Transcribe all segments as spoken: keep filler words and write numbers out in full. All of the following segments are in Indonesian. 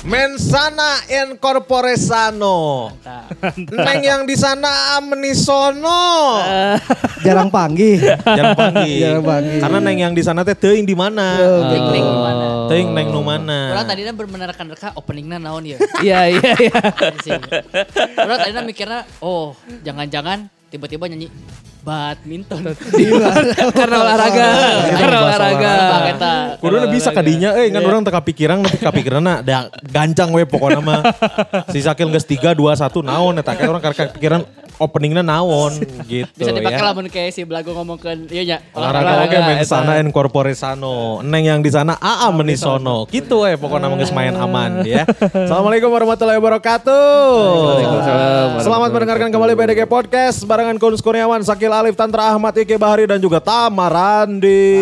Mensana incorpore sano. Neng yang di sana menisono. Jarang panggih. Jarang panggih. Jarang panggih. Karena neng yang di sana teh teuing di mana? Neng neng di mana? Teuing neng nu mana? Orang tadinya bener reka openingnya naon ya. Iya iya iya. Orang tadinya mikirnya oh jangan-jangan tiba-tiba nyanyi badminton. Karena olahraga. Karena olahraga. Kuduna bisa kadinya, eh kan orang teka pikiran, tapi kepikiranna da gancang we pokoknya mah. Si Sakil geus tiga dua satu naon eta kayak orang karek pikiran openingnya naon gitu bisa dipakai ya. lamun kayak si Belago ngomongkeun ieu nya. Olahraga oke mensana incorpore sano. Neng yang di sana aa menisono. Gitu we pokoknya mah geus main aman ya. Assalamualaikum warahmatullahi wabarakatuh. Selamat mendengarkan kembali B D G Podcast barengan Kunz Kurniawan, Sakil Alif, Tantra Ahmad, Ike Bahari dan juga Tamarandi.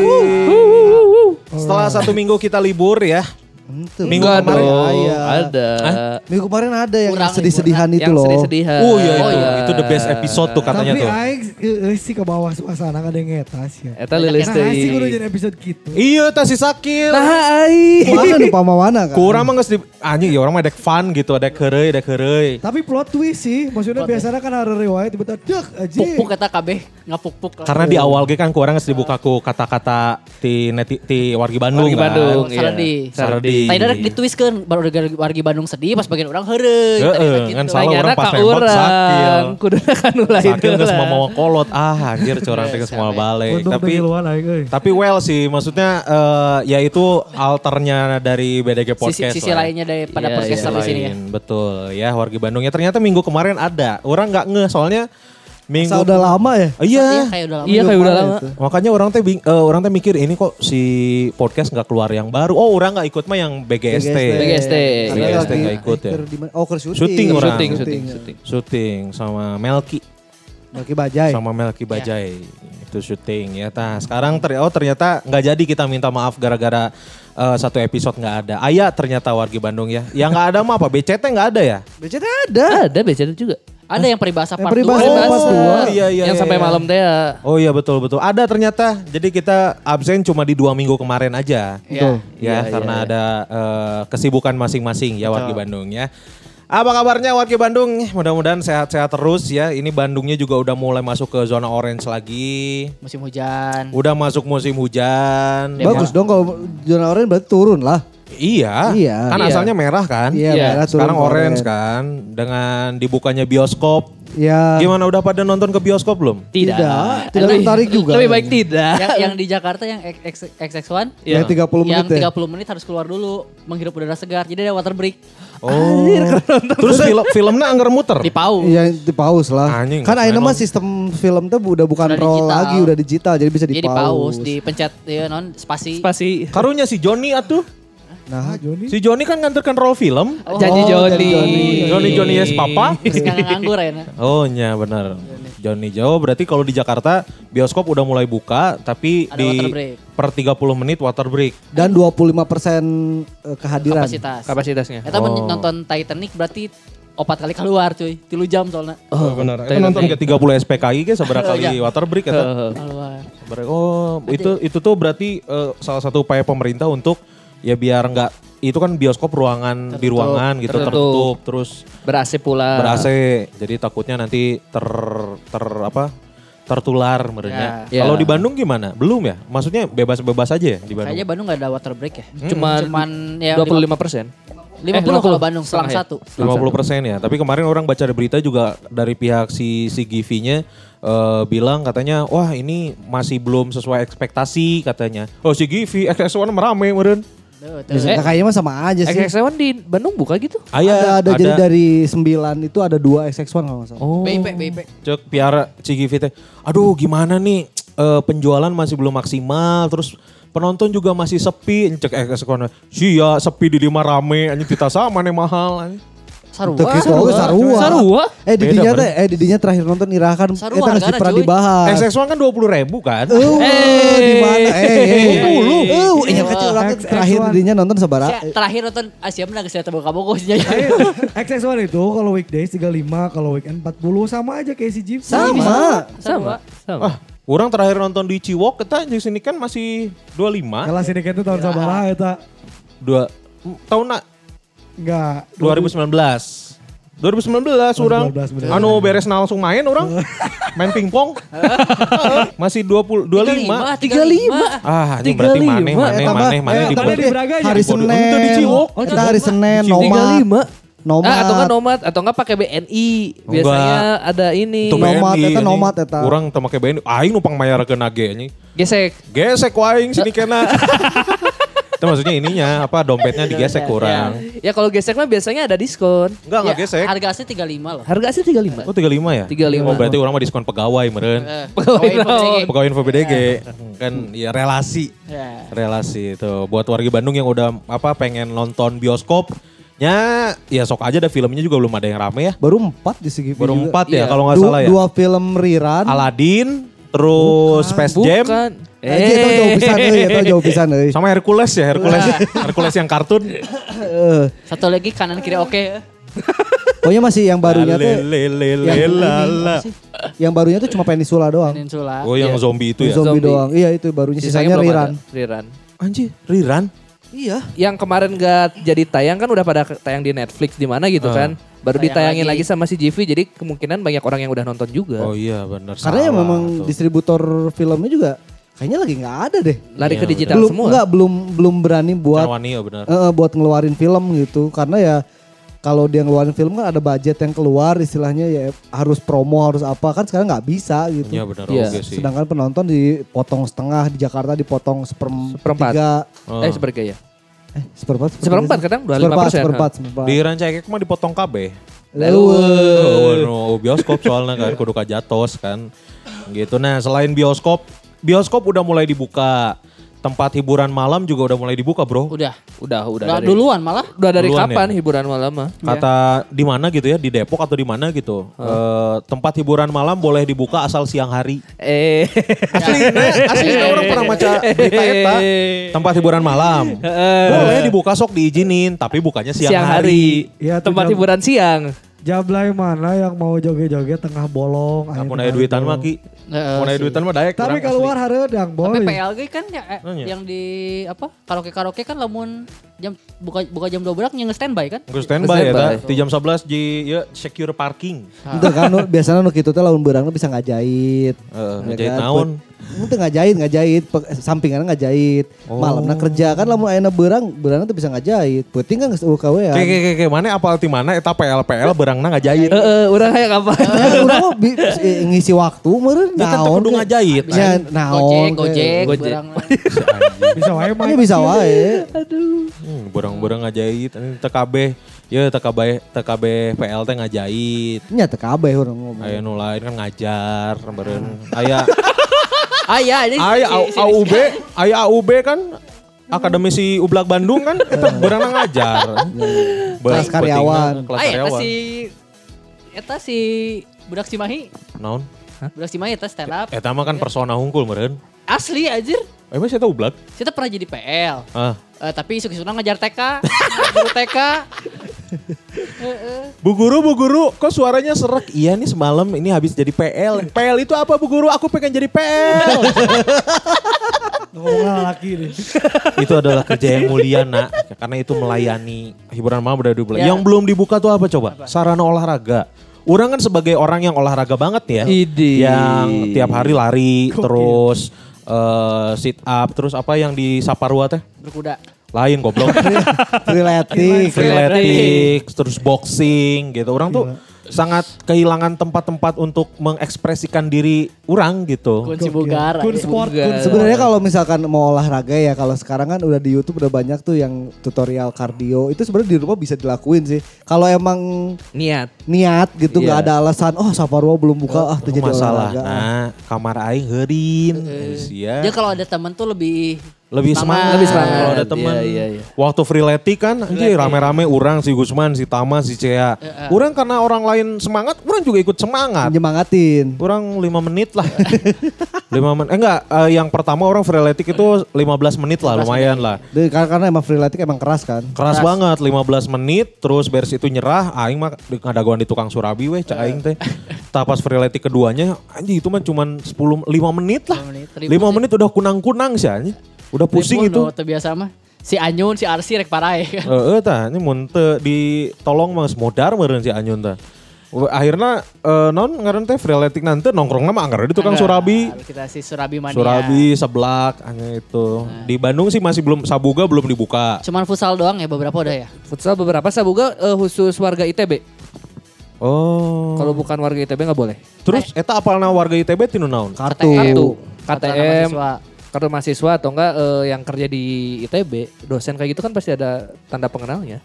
Setelah satu minggu kita libur ya. Entuh. Minggu Enggak kemarin dong, Iya. ada. Hah? Minggu kemarin ada yang Kurang sedih-sedihan itu Yang loh. sedih-sedihan. Oh iya itu, Oh, iya. itu the best episode tuh katanya Tapi tuh. aing eh, sih ke bawah suasana kada ngetas ya. Eta lilis Nah, sih kudu teuing. jadi episode gitu. Iya tah si Sakil. Nah ai. Mana nu pamawana kan? Kurang mah geus di anjing ya orang mah dek fun gitu, dek heureuy, dek heureuy. Tapi plot twist sih, maksudnya biasanya kan ada riwayat tiba-tiba dek aja. Puk-puk kata kabeh ngapuk-puk. Karena di awal ge kan kurang geus dibuka ku kata-kata ti neti, ti wargi Bandung. Wargi kan. Bandung. iya. Saradi. Saradi. Tadi ada ditwistkeun baru wargi Bandung sedih pas bagian orang heureuy. Heeh, Tadi kan gitu. salah orang Lanyana pas ka nembak Sakil. urang. Kuduna kan ulah Sakil geus lah. mau kolot. Ah anjir curang teh geus moal balik. Untung Tapi pengiluan aing euy. tapi well sih maksudnya eh, ya itu alternya dari B D G Podcast. Sisi, sisi lah. lainnya daripada Iya, podcast Sisi di sini ya. lain, betul ya wargi Bandungnya ternyata minggu kemarin ada. Orang nggak ngeh soalnya minggu Masa udah lama ya? Oh, iya. Iya kayak udah lama. Iya kayak udah lama. Makanya orang teh bing- eh, orang teh mikir ini kok si podcast nggak keluar yang baru. Oh orang nggak ikut mah yang B G S T. B G S T. Karena B G S T lagi- nggak ikut ya. ker di mana- Oh, ke syuting. Syuting orang. Syuting syuting syuting. Syuting sama Melki, Melki Bajai. sama Melki Bajai itu syuting ya. Tah sekarang ter oh ternyata nggak jadi kita minta maaf gara-gara eh, satu episode nggak ada. Ayah ternyata wargi Bandung ya. Yang nggak ada mah apa? B C T nggak ada ya? B C T ada. Ada B C T juga. Ada yang peribahasa Yang part peribahasa dua. part dua. iya iya. Yang iya, sampai iya. malam teh ya. Oh iya betul betul. Ada ternyata. Jadi kita absen cuma di dua minggu kemarin aja. Iya. Ya Iya, karena iya, ada eh, kesibukan masing-masing ya wargi Bandung ya. Apa kabarnya wargi Bandung? Mudah-mudahan sehat-sehat terus ya. Ini Bandungnya juga udah mulai masuk ke zona orange lagi. Musim hujan. Udah masuk musim hujan. Bagus dong kalau zona oranye berarti turun lah. Iya. Iya. Kan Iya. asalnya merah kan? Iya, Iya. merah turun Sekarang ke orange kan. Dengan dibukanya bioskop. Iya. Gimana udah pada nonton ke bioskop belum? Tidak. Tidak, tidak Lebih- tertarik juga. Lebih baik tidak. yang yang di Jakarta yang X X satu Yang tiga puluh yang menit ya. tiga puluh menit harus keluar dulu menghirup udara segar. Jadi ada water break Oh. Terus film filmnya anggar muter. di pau. Iya di pause lah. Anjing, Kan nggak akhirnya main mah sistem film tuh udah bukan Udah roll digital. lagi, udah digital jadi bisa di Jadi di pause. pause, dipencet ya non spasi. Spasi. Karunya si Joni atuh. Nah, Joni. Si Joni kan nganterkan roll film. Oh, Janji Oh, Joni. Joni. Joni Joni yes papa. Terus nggak nganggur ya. Nah. Oh iya benar. Joni Jawa berarti kalau di Jakarta bioskop udah mulai buka tapi Ada di water break. per tiga puluh menit water break. dan dua puluh lima persen kehadiran. Kapasitas. Kapasitasnya. Kita Oh. nonton Titanic berarti opat kali keluar cuy. Tilu jam soalnya. Oh benar. Itu Titanic. nonton ke tiga puluh S P K I ke seberapa kali Iya. water break eta? Keluar. Seberapa- Oh, itu itu tuh berarti eh, salah satu upaya pemerintah untuk ya biar nggak itu kan bioskop ruangan di Tertutup. ruangan gitu Tertutup. tertutup terus Ber-A C pula. ber-A C. Jadi takutnya nanti ter ter apa? tertular merenya. Ya. Kalau Ya. di Bandung gimana? Belum ya? Maksudnya bebas-bebas aja ya di Bandung. Kayaknya Bandung nggak ada water break ya. Cuman, Cuman ya dua puluh lima persen. lima puluh kalau Bandung selang satu. lima puluh persen ya. Tapi kemarin orang baca di berita juga dari pihak si si Givi-nya eh, bilang katanya wah ini masih belum sesuai ekspektasi katanya. Oh si Givi X X satu merame meureun. Biasanya kayaknya mah sama aja sih. X X satu di Bandung buka gitu? Aya ada, ada, jadi dari sembilan itu ada dua X X satu kalau nggak salah. Oh. B I P, B I P. Cek piara si Givi teh. Aduh gimana nih eh, penjualan masih belum maksimal terus penonton juga masih sepi. Cek X X satu. Sia sepi di lima rame anjing kita sama nih mahal anjing. Sarua. Teu kitu oge sarua. Sarua? Eh di Beda, dinya bener. teh eh di dinya terakhir nonton Ira kan Sarua eta geus hargana, pernah cuy. dibahas. X X satu kan dua puluh ribu kan. Eh, di mana? Eh, eh, dua puluh. Eh, nya kecil urang X X terakhir satu. di dinya nonton sabaraha? Saya terakhir nonton Asia menang saya tebak kabogos nya. X X satu itu kalau weekdays tiga puluh lima, kalau weekend empat puluh sama aja kayak si Jeep. Sama. Sama. Sama. Ah, orang terakhir nonton di Ciwok kita di sini kan masih dua puluh lima. Kalau sindiket itu tahun sabaraha eta. Dua tahun nak Enggak. dua ribu sembilan belas. dua ribu sembilan belas orang. dua ribu sembilan belas, bener. Anu beres nah langsung main orang. Main pingpong. Masih dua puluh dua puluh lima. tiga puluh lima. Ah, ini berarti maneh maneh maneh maneh Eh, di tapi di Braga aja. hari Bodoh. Senin. Untuk di Ciwok. Oh, kita hari Senin tiga puluh nomad. lima. Nomad. Ah, atau enggak nomad atau enggak pakai B N I. Biasanya ada ini. Itu Nomad, B N I, eta anjing. nomad, eta. Urang teu make B N I. Aing numpang mayar ke nage anjing. Gesek. Gesek waing sini kena. Itu maksudnya ininya apa dompetnya digesek kurang. Ya kalau gesek mah biasanya ada diskon. Enggak enggak gesek. Harga asli tiga puluh lima loh. Harga asli tiga puluh lima. Oh tiga puluh lima ya? tiga puluh lima. Oh berarti orang mah diskon pegawai meren. Eh, Pegawai pegawai naon? P B D G. Pegawai info B D G. Kan ya relasi. Ya. Relasi itu. Buat warga Bandung yang udah apa pengen nonton bioskop. Ya, ya sok aja ada filmnya juga belum ada yang rame ya. Baru empat di segi Baru juga. empat ya Iya. kalau nggak Du- salah ya. Dua film rerun. Aladdin, terus Space Jam, Bukan. Eh, itu jauh pisan euy, itu jauh pisan euy. sama Hercules ya, Hercules. Hercules yang kartun. Heeh. Satu lagi kanan kiri oke. Pokoknya masih yang barunya tuh Lelelelelala. yang barunya tuh cuma Peninsula doang. Peninsula. Oh yang zombie itu ya. Zombie, Zombie. doang. Iya itu barunya sisanya, belum rerun. ada. Rerun. Anjir, rerun. Iya. Yang kemarin gak jadi tayang kan udah pada ke- tayang di Netflix di mana gitu Ah. kan. Baru Tayang ditayangin lagi. lagi. sama si G V jadi kemungkinan banyak orang yang udah nonton juga. Oh iya benar. Karena ya salah memang tuh. distributor filmnya juga kayaknya lagi nggak ada deh. Lari Iya, ke digital belum semua. enggak belum belum berani buat Carwani ya benar. eh, buat ngeluarin film gitu karena ya kalau dia ngeluarin film kan ada budget yang keluar istilahnya ya harus promo harus apa kan sekarang nggak bisa gitu. Iya benar Iya. oke sih. Sedangkan penonton dipotong setengah di Jakarta dipotong seperempat. Seperempat. Oh. Eh sepertiga ya. Eh seperempat. Seperempat kadang dua puluh lima Seperempat persen. seperempat seperempat. Di Rancakek mah dipotong K B. Leuweung. Oh, no, bioskop soalnya kan kudu kajatos kan. Gitu. Nah, selain bioskop, bioskop udah mulai dibuka. Tempat hiburan malam juga udah mulai dibuka, Bro. Udah. Udah, udah Udah dari duluan malah. Udah dari Duluan kapan ya? hiburan malam mah? Kata di mana gitu ya, di Depok atau di mana gitu. Eh, tempat hiburan malam boleh dibuka asal siang hari. Eh. Asli, asli orang pernah baca berita eta. Tempat hiburan malam. Boleh dibuka sok diizinin, tapi bukannya siang, Siang hari. hari. Iya, tuh Tempat jam- hiburan siang. Jablay mana yang mau joget-joget tengah bolong. Aku ayo naya tengah duitan mah bolong. Ki. Heeh, Mau naya sih. duitan mah daek. Tapi kurang keluar asli. hareudang Tapi boy. P L G kan ya, eh, Nanya. yang di apa karaoke-karaoke kan lamun jam buka buka jam dua belas yang standby kan? Gue standby ya, Standby. ta. Di jam sebelas di ya, secure parking. Itu kan nu- biasanya nu kitu teh lamun beurang bisa ngajait. Heeh, Ya ngejahit kan? naon. Itu ngajait, ngajait, Pe- sampingannya ngajait. Oh. Malamna kerja kan lamun ayeuna beurang, beurangna tuh bisa ngajait. Penting kan geus U K W ya. Kayak kayak kayak mana apal ti mana eta P L P L berangna ngajahit. Heeh, urang kayak kapan? Ya, urang mah bi- eh, ngisi waktu meureun Ya kan teu naon. kudu ke- ngajahit. Ya naon. Gojek, ke- gojek, Gojek. barang. Bisa wae mah. Ini bisa wae. Hmm, berang-berang ngajahit. Ini T K B. Ya T K B T K B P L teh ngajahit. Nya teu kabeh urang ngomong. Aya nu lain kan ngajar beureun. Aya Ah iya, ini aya si- si- A U B, aya A U B kan Akademisi Ublak Bandung kan itu beurangna ngajar. Kelas karyawan. Kelas Ah, eta karyawan. si eta si budak Cimahi. Naon? Budak Cimahi eta stand up. Eta mah kan persona hungkul meureun. Asli anjir. Emang saya tahu Ublak? Kita pernah jadi P L. Ah. Eh, tapi isuk-isukna ngajar T K. Guru T K. Bu guru, bu guru, kok suaranya serak? Iya nih semalam ini habis jadi P L. P L itu apa bu guru? Aku pengen jadi P L. Ngomong laki nih. Itu adalah kerja yang mulia nak. Karena itu melayani hiburan malam udah dibuka. Ya. Yang belum dibuka tuh apa coba? Sarana olahraga. Orang kan sebagai orang yang olahraga banget ya. Idi. Yang tiap hari lari, terus eh, sit up, terus apa yang di Saparua teh? Berkuda. Lain goblok. Freeletik. Freeletics, terus boxing gitu. Orang tuh sangat kehilangan tempat-tempat untuk mengekspresikan diri orang gitu. Kunci bugar. Kun aja. sport, kun Bugar. sport. Sebenarnya kalau misalkan mau olahraga ya, kalau sekarang kan udah di YouTube udah banyak tuh yang tutorial kardio. Itu sebenarnya di rumah bisa dilakuin sih. Kalau emang Niat. niat gitu nggak Iya. ada alasan, oh Saparua belum buka, ah Itu terjadi masalah. olahraga. Nah, kamar aing heurin. Sia. Dia kalau ada temen tuh lebih Lebih semangat. Lebih semangat. Kalau ada teman. Iya, iya, iya. Waktu freeletik kan, anjir rame-rame orang si Gusman, si Tama, si Cea. Orang karena orang lain semangat, orang juga ikut semangat. Nyemangatin. Kurang lima menit lah. lima menit. Eh enggak, eh, yang pertama orang freeletik itu lima belas menit lah, lumayan lah. Deh, karena, karena emang freeletik emang keras kan. Keras banget, lima belas menit, terus beres itu nyerah, aing mah ngadaguan di tukang surabi weh, cak aing teh. Tah pas freeletik keduanya, anjing itu mah cuman sepuluh lima menit lah. lima menit, ribut lima sih. menit udah kunang-kunang sih anjing. Udah pusing Ribut itu. loh, terbiasa mah. Si Anyun, si Arsi rek parae. Heeh tah, ini mun teu ditolong mah geus modar meureun si Anyun tah. Akhirnya uh, non ngaran teh freeletik nanti nongkrong nama anggar di tukang Surabi. Kita si Surabi Mania. Surabi seblak hanya itu. Nah. Di Bandung sih masih belum Sabuga belum dibuka. Cuman futsal doang ya beberapa udah ya. Futsal beberapa Sabuga uh, khusus warga I T B. Oh. Kalau bukan warga I T B nggak boleh. Terus eta apalna warga I T B tinu naon? Kartu. Kartu. K T Kartu M. mahasiswa. Kartu mahasiswa atau enggak uh, yang kerja di I T B, dosen kayak gitu kan pasti ada tanda pengenalnya.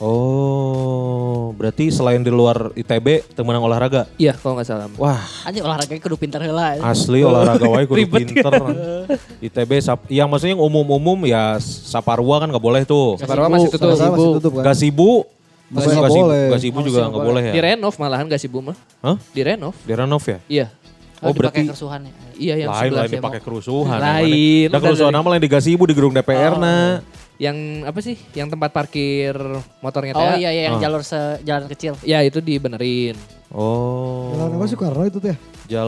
Oh, berarti selain di luar I T B temenang olahraga? Iya, kalau nggak salah. Wah, Anjing olahraganya kudu pintar heula. asli olahraga wae kudu Ribet pinter. I T B sap, yang maksudnya yang umum-umum ya Saparua kan nggak boleh tuh. Saparua masih tutup. Saparua masih tutup kan. Gasibu, Masih Gasibu, nggak boleh. Gasibu juga nggak boleh ya. Direnov malahan gak sih Bu mah? Hah? Direnov. Direnov ya? Iya. Oh, Oh, berarti berarti kerusuhan ya. Iya yang lain sebelah lain Demo. dipakai kerusuhan. Lain. Ada kerusuhan nama lain di Gasibu di gedung D P R na. Yang apa sih? Yang tempat parkir motornya Oh teh. iya iya yang Oh. jalur se jalan kecil. Ya itu dibenerin. Oh. Jalan apa Soekarno itu teh?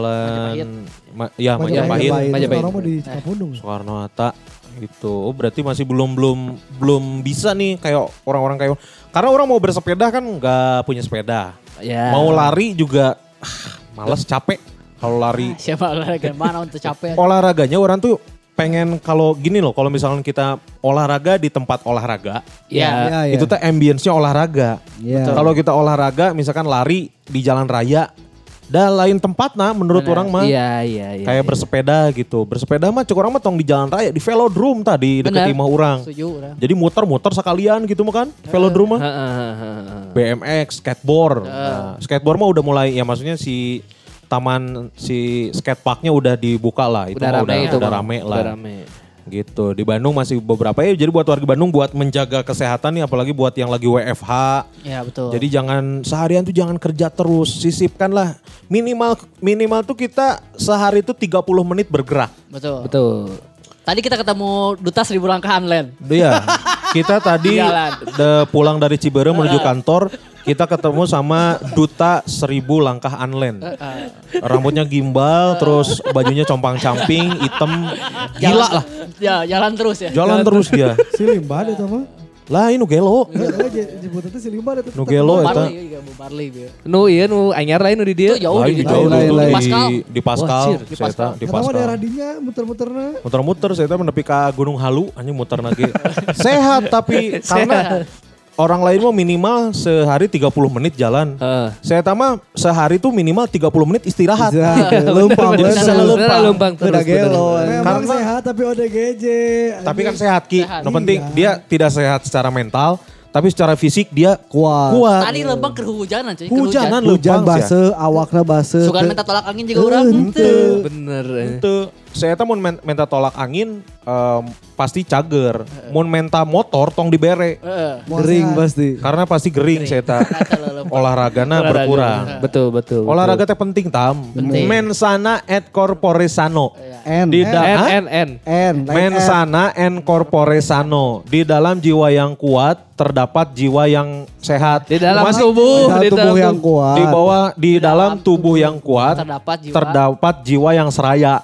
Jalan Ma- ya Majapahit. Majapahit. Majapahit. Soekarno mah di Cikapundung. Soekarno Hatta gitu. Oh berarti masih belum belum belum bisa nih kayak orang-orang kayak karena orang mau bersepeda kan nggak punya sepeda. Ya. Mau lari juga ah, males capek kalau lari. Siapa olahraga mana untuk capek. Olahraganya orang tuh pengen kalau gini loh, kalau misalnya kita olahraga di tempat olahraga, Ya. Iya, iya. itu tuh ambience-nya olahraga. Iya. Kalau kita olahraga misalkan lari di jalan raya, dah lain tempat nah menurut Bener. orang mah. Iya iya iya. Kayak iya. bersepeda gitu. Bersepeda mah cukup orang mah tong di jalan raya, di velodrome tadi deket Bener. imah orang. Setuju orang. Jadi muter-muter sekalian gitu mah kan, velodrome mah. Heeh, heeh, heeh. B M X, skateboard. Nah, skateboard mah udah mulai ya maksudnya si taman si skateparknya udah dibuka lah. Itu Udah mah rame udah, itu udah Bang. rame lah. Udah rame. Gitu. Di Bandung masih beberapa ya. Jadi buat warga Bandung buat menjaga kesehatan nih apalagi buat yang lagi W F H. Ya betul. Jadi jangan seharian tuh jangan kerja terus, sisipkanlah minimal minimal tuh kita sehari itu tiga puluh menit bergerak. betul. Betul. Tadi kita ketemu duta seribu langkah online. Iya. Kita tadi Jalan. de- pulang dari Ciberem menuju kantor, kita ketemu sama duta seribu langkah online. Rambutnya gimbal, terus bajunya compang-camping, hitam, gila lah. Ya jalan terus ya. Jalan terus dia. Si Limba itu mah. Lah ini gelo. Iya, jebut itu si Limba itu. Nu gelo eta. Marley juga Bu Marley dia. Nu iya nu anyar lain nu di dia. Itu jauh Lain di di jauh lain, dulu lain. di Pascal. di Pascal, Wah, cir, di saya Pascal. di Karena mah Pascal. daerah dinya muter-muterna. Muter-muter saya teh menepi ka Gunung Halu, anjing muter lagi. Sehat tapi karena orang lain mah minimal sehari tiga puluh menit jalan. Heeh. Saya tama sehari tuh minimal tiga puluh menit istirahat. Istirahat, lempang Bener, bener. bener, bener, lempang terus. Udah bener, gelo. bener. Memang Karena- sehat tapi O D G J. Tapi kan sehat Ki. Sehat. No penting Iya. dia tidak sehat secara mental, tapi secara fisik dia Kuat. kuat. Tadi lembang kehujanan cuy. Hujanan kehujan. Hujan lempang sia. base, awakna base. Suka minta tolak angin juga orang. Henteu. Bener. eh. Itu saya teh mun men- minta tolak angin em, pasti cager. Mun minta motor tong dibere. Heeh. Kering pasti. Karena pasti gering saya teh. Kata lo lembang. Olahragana Olahraga. berkurang. Betul betul. Olahraga teh penting tam. Penting. Mensana et corpore sano. N. Di N da- Hah? N N. N. like N. Mensana en corpore sano. Di dalam jiwa yang kuat terdapat jiwa yang sehat. Di dalam Masih- tubuh, Dalam di tubuh dalam yang tubuh. kuat. Di bawah di dalam tubuh yang kuat Terdapat jiwa. terdapat jiwa yang seraya.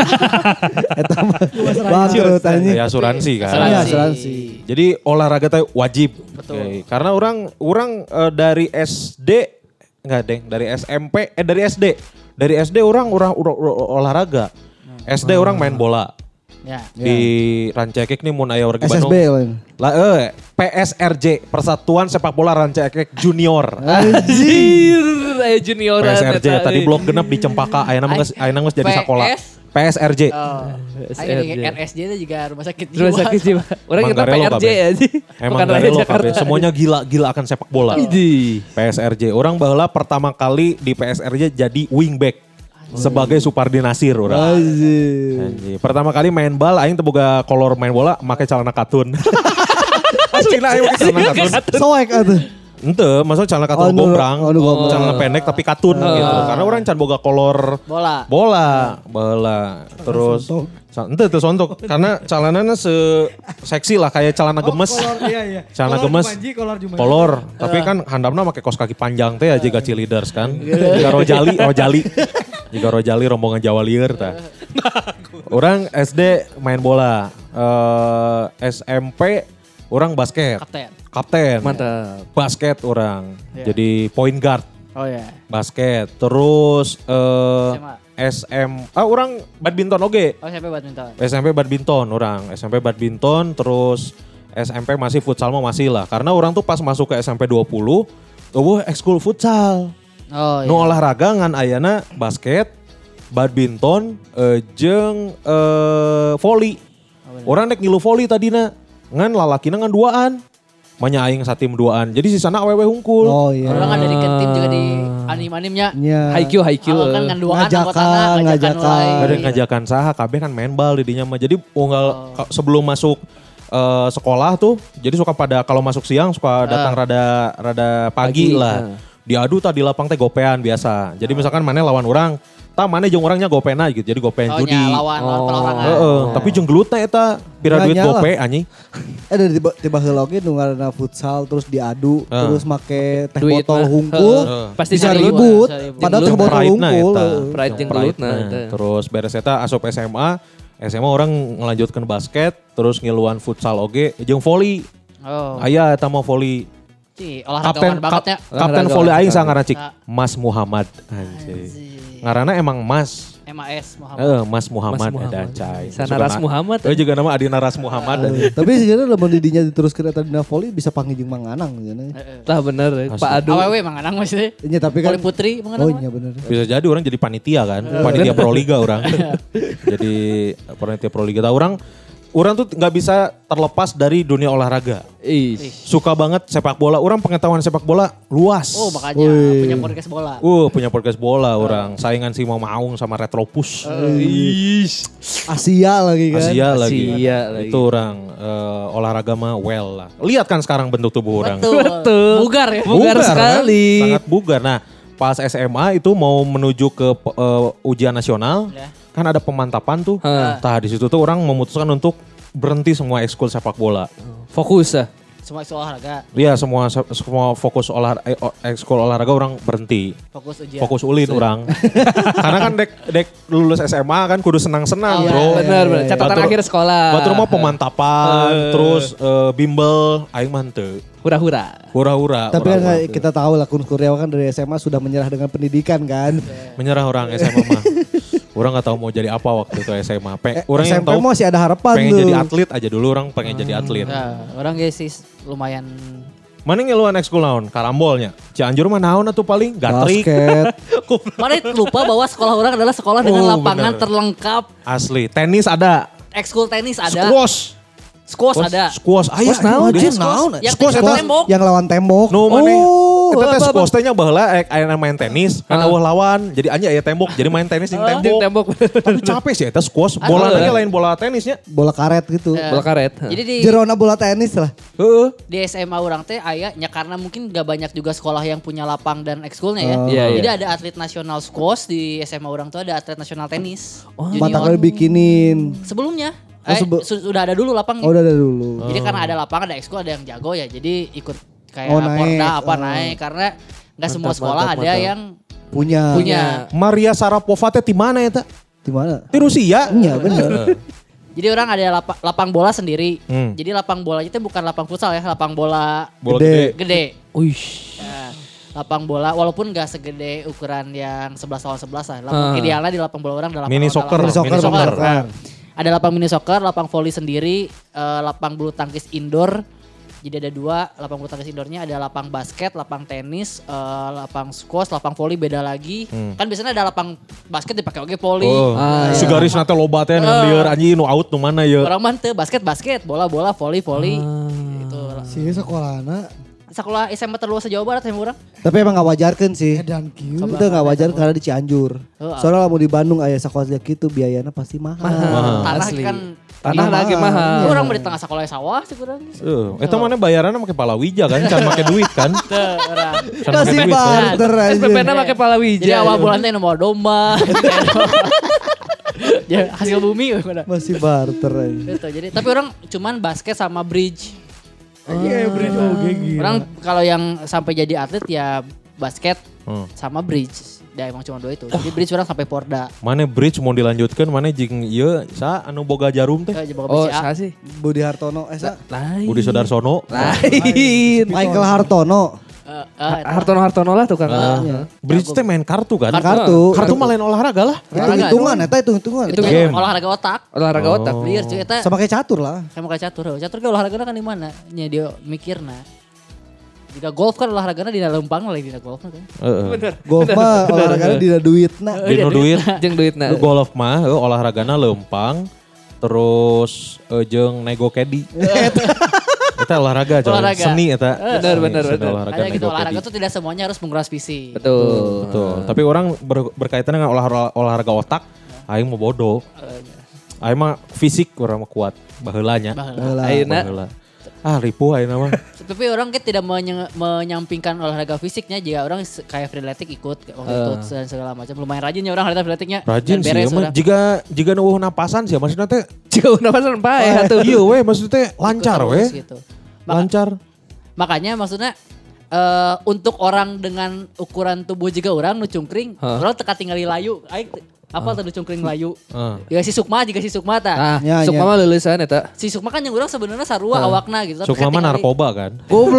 Bangkrut anjing. Ya asuransi kan. Iya, asuransi. Jadi olahraga teh wajib. Betul. Oke, karena orang orang eh, dari S D enggak deng, dari S M P eh dari S D. Dari S D orang orang ora- ora- olahraga. S D orang main bola. Ya. Di Rancakek nih mun aya warga S S Bandung. B lain. Lah eh P S R J Persatuan Sepak Bola Rancakek Junior. Anjir, aya junioran. P S R J eta, tadi eh. blok genep di Cempaka aya nama geus aya nama geus jadi P S? sekolah. P S R J. Oh. S Ayo R J. R S J itu juga rumah sakit jiwa. Rumah sakit jiwa. Orang kita P Manggarelo R J kabeh. aja. Emang Bukan gak Raya relo Jakarta. kabeh. Semuanya gila-gila akan sepak bola. Idi. P S R J. Orang baheula pertama kali di P S R J jadi wingback. Sebagai Supardi Nasir orang. Anjir. Anjir. Pertama kali main bal, aing teu boga kolor main bola, make celana katun. Aslinya aing make celana katun. Soek atuh. Ente, maksudnya celana katun Oh, nu- gombrang, oh, nu gombrang. celana pendek tapi katun gitu. Karena orang can boga kolor Bola. bola, bola. Terus Sa- ente teu sontok karena celananya se seksi lah kayak celana gemes. Kolor iya iya. Celana Kolor gemes. Jumanji, kolor Jumanji. Kolor, tapi kan handapna make kaos kaki panjang teh aja gaci leaders kan. Jika Rojali, Rojali. Jika Rojali rombongan Jawa lieur tah. Orang S D main bola. Eh, S M P Orang basket. Kapten. Kapten. Mantap. Basket orang. Iya. Jadi point guard. Oh ya. Basket. Terus eh S M A. S M ah orang badminton oge. Oh sampai badminton. S M P badminton orang. S M P badminton terus S M P masih futsal mah masih lah. Karena orang tuh pas masuk ke S M P dua puluh, oh ekskul futsal. Oh Nu iya. olahraga ngan ayana basket, badminton, eh, jeung eh, volley. Orang dek ngilu volley tadina. Ngan lalakina ngan duaan. Manya aing satim duaan. Jadi sisana awewe hungkul. Oh iya. Orang kan dari ke tim juga di anim-animnya. Nya. Haikyuu, Haikyuu. Awal kan nganduan Ngajakan, anggotana, ngajakan ngajakan. mulai. Ada ngajakan saha kabeh kan main bal di dinya mah. Jadi unggal ka- sebelum masuk eh, sekolah tuh, jadi suka pada kalau masuk siang suka datang rada rada pagi, Pagi, lah. nah. Diadu tadi lapang teh gopean biasa. Jadi misalkan mana lawan orang, tah mana jeung orangnya gopena gitu. Jadi gopean Oh judi. nya lawan lawan Oh. perorangan. Heeh, tapi jeung gelutna eta pira Nggak duit nyala. gope anjing. Eh dari tiba tiba heula oge nu ngaranna futsal terus diadu Ah. terus make teh Duit botol mah. hungkul. Heeh. Pasti Bisa cari ribut, bisa ribut. padahal teh Jeung botol pride-na hungkul. eta. heeh. Pride Jeung jeung gelutna pride-na. eta. Terus beres eta asup S M A. S M A orang ngelanjutkan basket, terus ngiluan futsal oge jeung volley. Oh. Aya eta mah volley. Ci, Kapten olahragawan banget ya. kap- Kapten Olahraga, volley aing olahraga. sangaran cik Nah. Mas Muhammad anjing. Ngaranna emang Mas. M A S Muhammad. Heeh, Mas Muhammad Mas ada Muhammad. cai. Sana Ras Muhammad. Oh juga nama Adina Ras Muhammad. Eh, Tapi sebenarnya lamun didinya diteruskeun eta dina volley bisa panggil jeung manganang cenah. Heeh. Tah bener, Asli. Pak Adu. Awewe manganang maksudnya. Nya tapi kan Poli putri manganang. Oh mah. iya bener. Bisa jadi orang jadi panitia kan, panitia Proliga orang. Jadi panitia Proliga. Tahu orang, orang tuh nggak bisa terlepas dari dunia olahraga. Ih. Suka banget sepak bola. Orang pengetahuan sepak bola luas. Oh makanya Wih. punya podcast bola. Uh, punya podcast bola orang. Saingan si Mama Aung sama Retropus. Asia lagi kan. Asia lagi. Asia lagi. Itu orang eh, olahraga mah well lah. Lihat kan sekarang bentuk tubuh orang. Betul. Betul. Bugar ya. Bugar kan? sekali. Sangat bugar. Nah, pas S M A itu mau menuju ke eh, ujian nasional, Ya. kan ada pemantapan tuh. Hah. Nah, di situ tuh orang memutuskan untuk berhenti semua ekskul sepak bola. Fokus ah. Semua isu olahraga. Iya, semua semua fokus olah eh, o- ekskul olahraga orang berhenti. Fokus ujian. Fokus ulin orang. Karena kan dek dek lulus S M A kan kudu senang-senang, Oh, Bro. iya. Bener, bener. Catatan Batur- akhir sekolah. Batur mah pemantapan, terus eh, bimbel, aing mah henteu. Hura-hura. Hura-hura. Tapi kan orang mah kita tahu lah Kun Kurniawan kan dari S M A sudah menyerah dengan pendidikan kan. menyerah orang S M A mah. Orang nggak tahu mau jadi apa waktu itu S M A. Pe, Eh, orang S yang M P tahu masih ada harapan pengen tuh. jadi atlet aja dulu, orang pengen jadi atlet. Nah, orang guys sih lumayan Mana ngeluan ekskul naon? Karambolnya. Cianjur mah naon atuh paling? Gatrik. Basket. Mana lupa bahwa sekolah orang adalah sekolah dengan Oh, lapangan bener. terlengkap. Asli. Tenis ada. Ekskul tenis ada. Squash. Squash ada. Squash. Aya. Squash naon? Dia Anjing, naon? Yang Squash tembok eta. tembok. Yang lawan tembok. Nu maneh. Oh, Eta teh apa, apa? squash teh nya baheula ek aya main tenis, kan Ah. eueuh lawan. Jadi anya aya tembok, jadi main tenis jeung Jeung tembok. tembok. Tapi capek sih eta squash. Bola Aduh. teh lain bola tenisnya. Bola karet gitu. Eh, Bola karet. Jadi di Jerona bola tenis lah. Heeh. di S M A orang teh aya nya karena mungkin gak banyak juga sekolah yang punya lapang dan ekskulnya ya. Oh. Iya, iya. Jadi ada atlet nasional squash di S M A orang tuh ada atlet nasional tenis. Oh, mata kali bikinin. Sebelumnya Oh, eh, sebe- su- sudah ada dulu lapangnya. Oh udah ada dulu. Jadi karena ada lapangan ada ekskul ada yang jago ya. Jadi ikut kayak Oh, naik. Porda apa Oh. naik karena nggak semua Mantap, sekolah mantap, ada mantap. yang Punya. punya. Maria Sarapova teh di mana eta? Di mana? Di Rusia. Iya bener. Jadi orang ada lapa- lapang bola sendiri. Hmm. Jadi lapang bolanya itu bukan lapang futsal ya, lapang bola Bola Gede. gede. gede. Uish. Nah, lapang bola walaupun gak segede ukuran yang sebelas lawan sebelas lah. Lapang Ah. idealnya di lapang bola orang adalah Mini soccer. Mini soccer, Mini soccer. bener. Ada lapang mini soccer, lapang volley sendiri, eh, lapang bulu tangkis indoor. Jadi ada dua, lapang bulu tangkis indoornya ada lapang basket, lapang tenis, eh, lapang squash, lapang volley beda lagi. Hmm. Kan biasanya ada lapang basket dipakai oke volley. Oh, Ah, si iya. garis nanti loba teh Ah. nu lieur anjing nu out nu mana ya. Orang mah teu basket basket, bola bola, volley volley. Ah. Gitu. Si sekolahna Sekolah S M A terluas se Jawa Barat yang orang. Tapi emang gak wajarkan sih. edan kieu. Itu gak wajar karena di Cianjur. Oh, Soalnya mau di Bandung ayah sekolah gitu biayanya pasti mahal. Mahal. Tanah asli. kan Tanah Iya, lagi mahal. mahal. orang mau di tengah sekolah sawah sih kurang. Heeh, eta mana bayaranna make palawija kan, can make duit kan. Teu, orang. Can make Kasih duit. kan. barter S P P aja. na pakai palawija. Jadi awal bulan teh mau domba. Ya hasil bumi udah. Masih barter aja. Gitu. Jadi tapi orang cuman basket sama bridge. Iya, bridge oge gila. Orang kalau yang sampai jadi atlet ya basket Hmm. sama bridge. Ya emang cuma dua itu. Jadi bridge orang sampai Porda. Mana bridge mau dilanjutkan, mana jing ieu sa anu boga jarum teh. Eh, Jebak Oh, B C A. saya sih. Budi Hartono, eh sa, Lain. Budi Sodarsono. Lain. Michael Hartono. Eh, eh, Hartono Hartono lah tukang. Ah. Bridge teh main kartu kan? Kartu. Kartu mah lain olahraga lah. Itu hitungan, eta itu hitungan. itu game. olahraga otak. Olahraga Oh. otak. Liar cuy eta. Sama kayak catur lah. Kayak mau kayak catur. Catur ke olahragana kan di mana? Nya dia mikirna. Jika golf kan olahragana di lempang lah di golf kan. Heeh. Bener. Golf mah olahraganya di duitna. Dino duit. Jeung duitna. Lu golf mah heuh, olahragana lempang terus eh, jeung nego caddy. Eta olahraga coy. Olahraga. Seni eta. Bener, Seni, bener, seni bener. Olahraga Kayak gitu nego olahraga caddy. tuh tidak semuanya harus menguras fisik. Betul. Betul. Tapi orang ber- berkaitan dengan olahraga, olahraga otak, aing mau bodoh. Aing mah fisik orang mah kuat baheulanya. Baheula. Ayeuna Baheula. Ah ripuh ayeuna mah. Tapi orang kan tidak menye- menyampingkan olahraga fisiknya jika orang se- kayak freeletic ikut waktu itu dan segala macam. Lumayan rajinnya orang harita freeleticnya. Rajin Dan sih, beres emang orang. jika jika nuwuh napasan sih, maksudnya teh Jika napasan pae atuh. iya weh, maksudnya teh lancar Ikut weh, terus gitu. Maka- lancar. Makanya maksudnya eh, untuk orang dengan ukuran tubuh juga orang nu cungkring, Hah? orang teka tinggali layu. Aing te- apa tuh nu cungkring layu? Ah. Jika si Sukma, jika si Sukma tah. Nah, Ya, sok ya. mama lulusan eta. Si Sukma kan yang orang sebenarnya sarua awakna gitu. Tapi Sukma mah ketinggali- narkoba kan.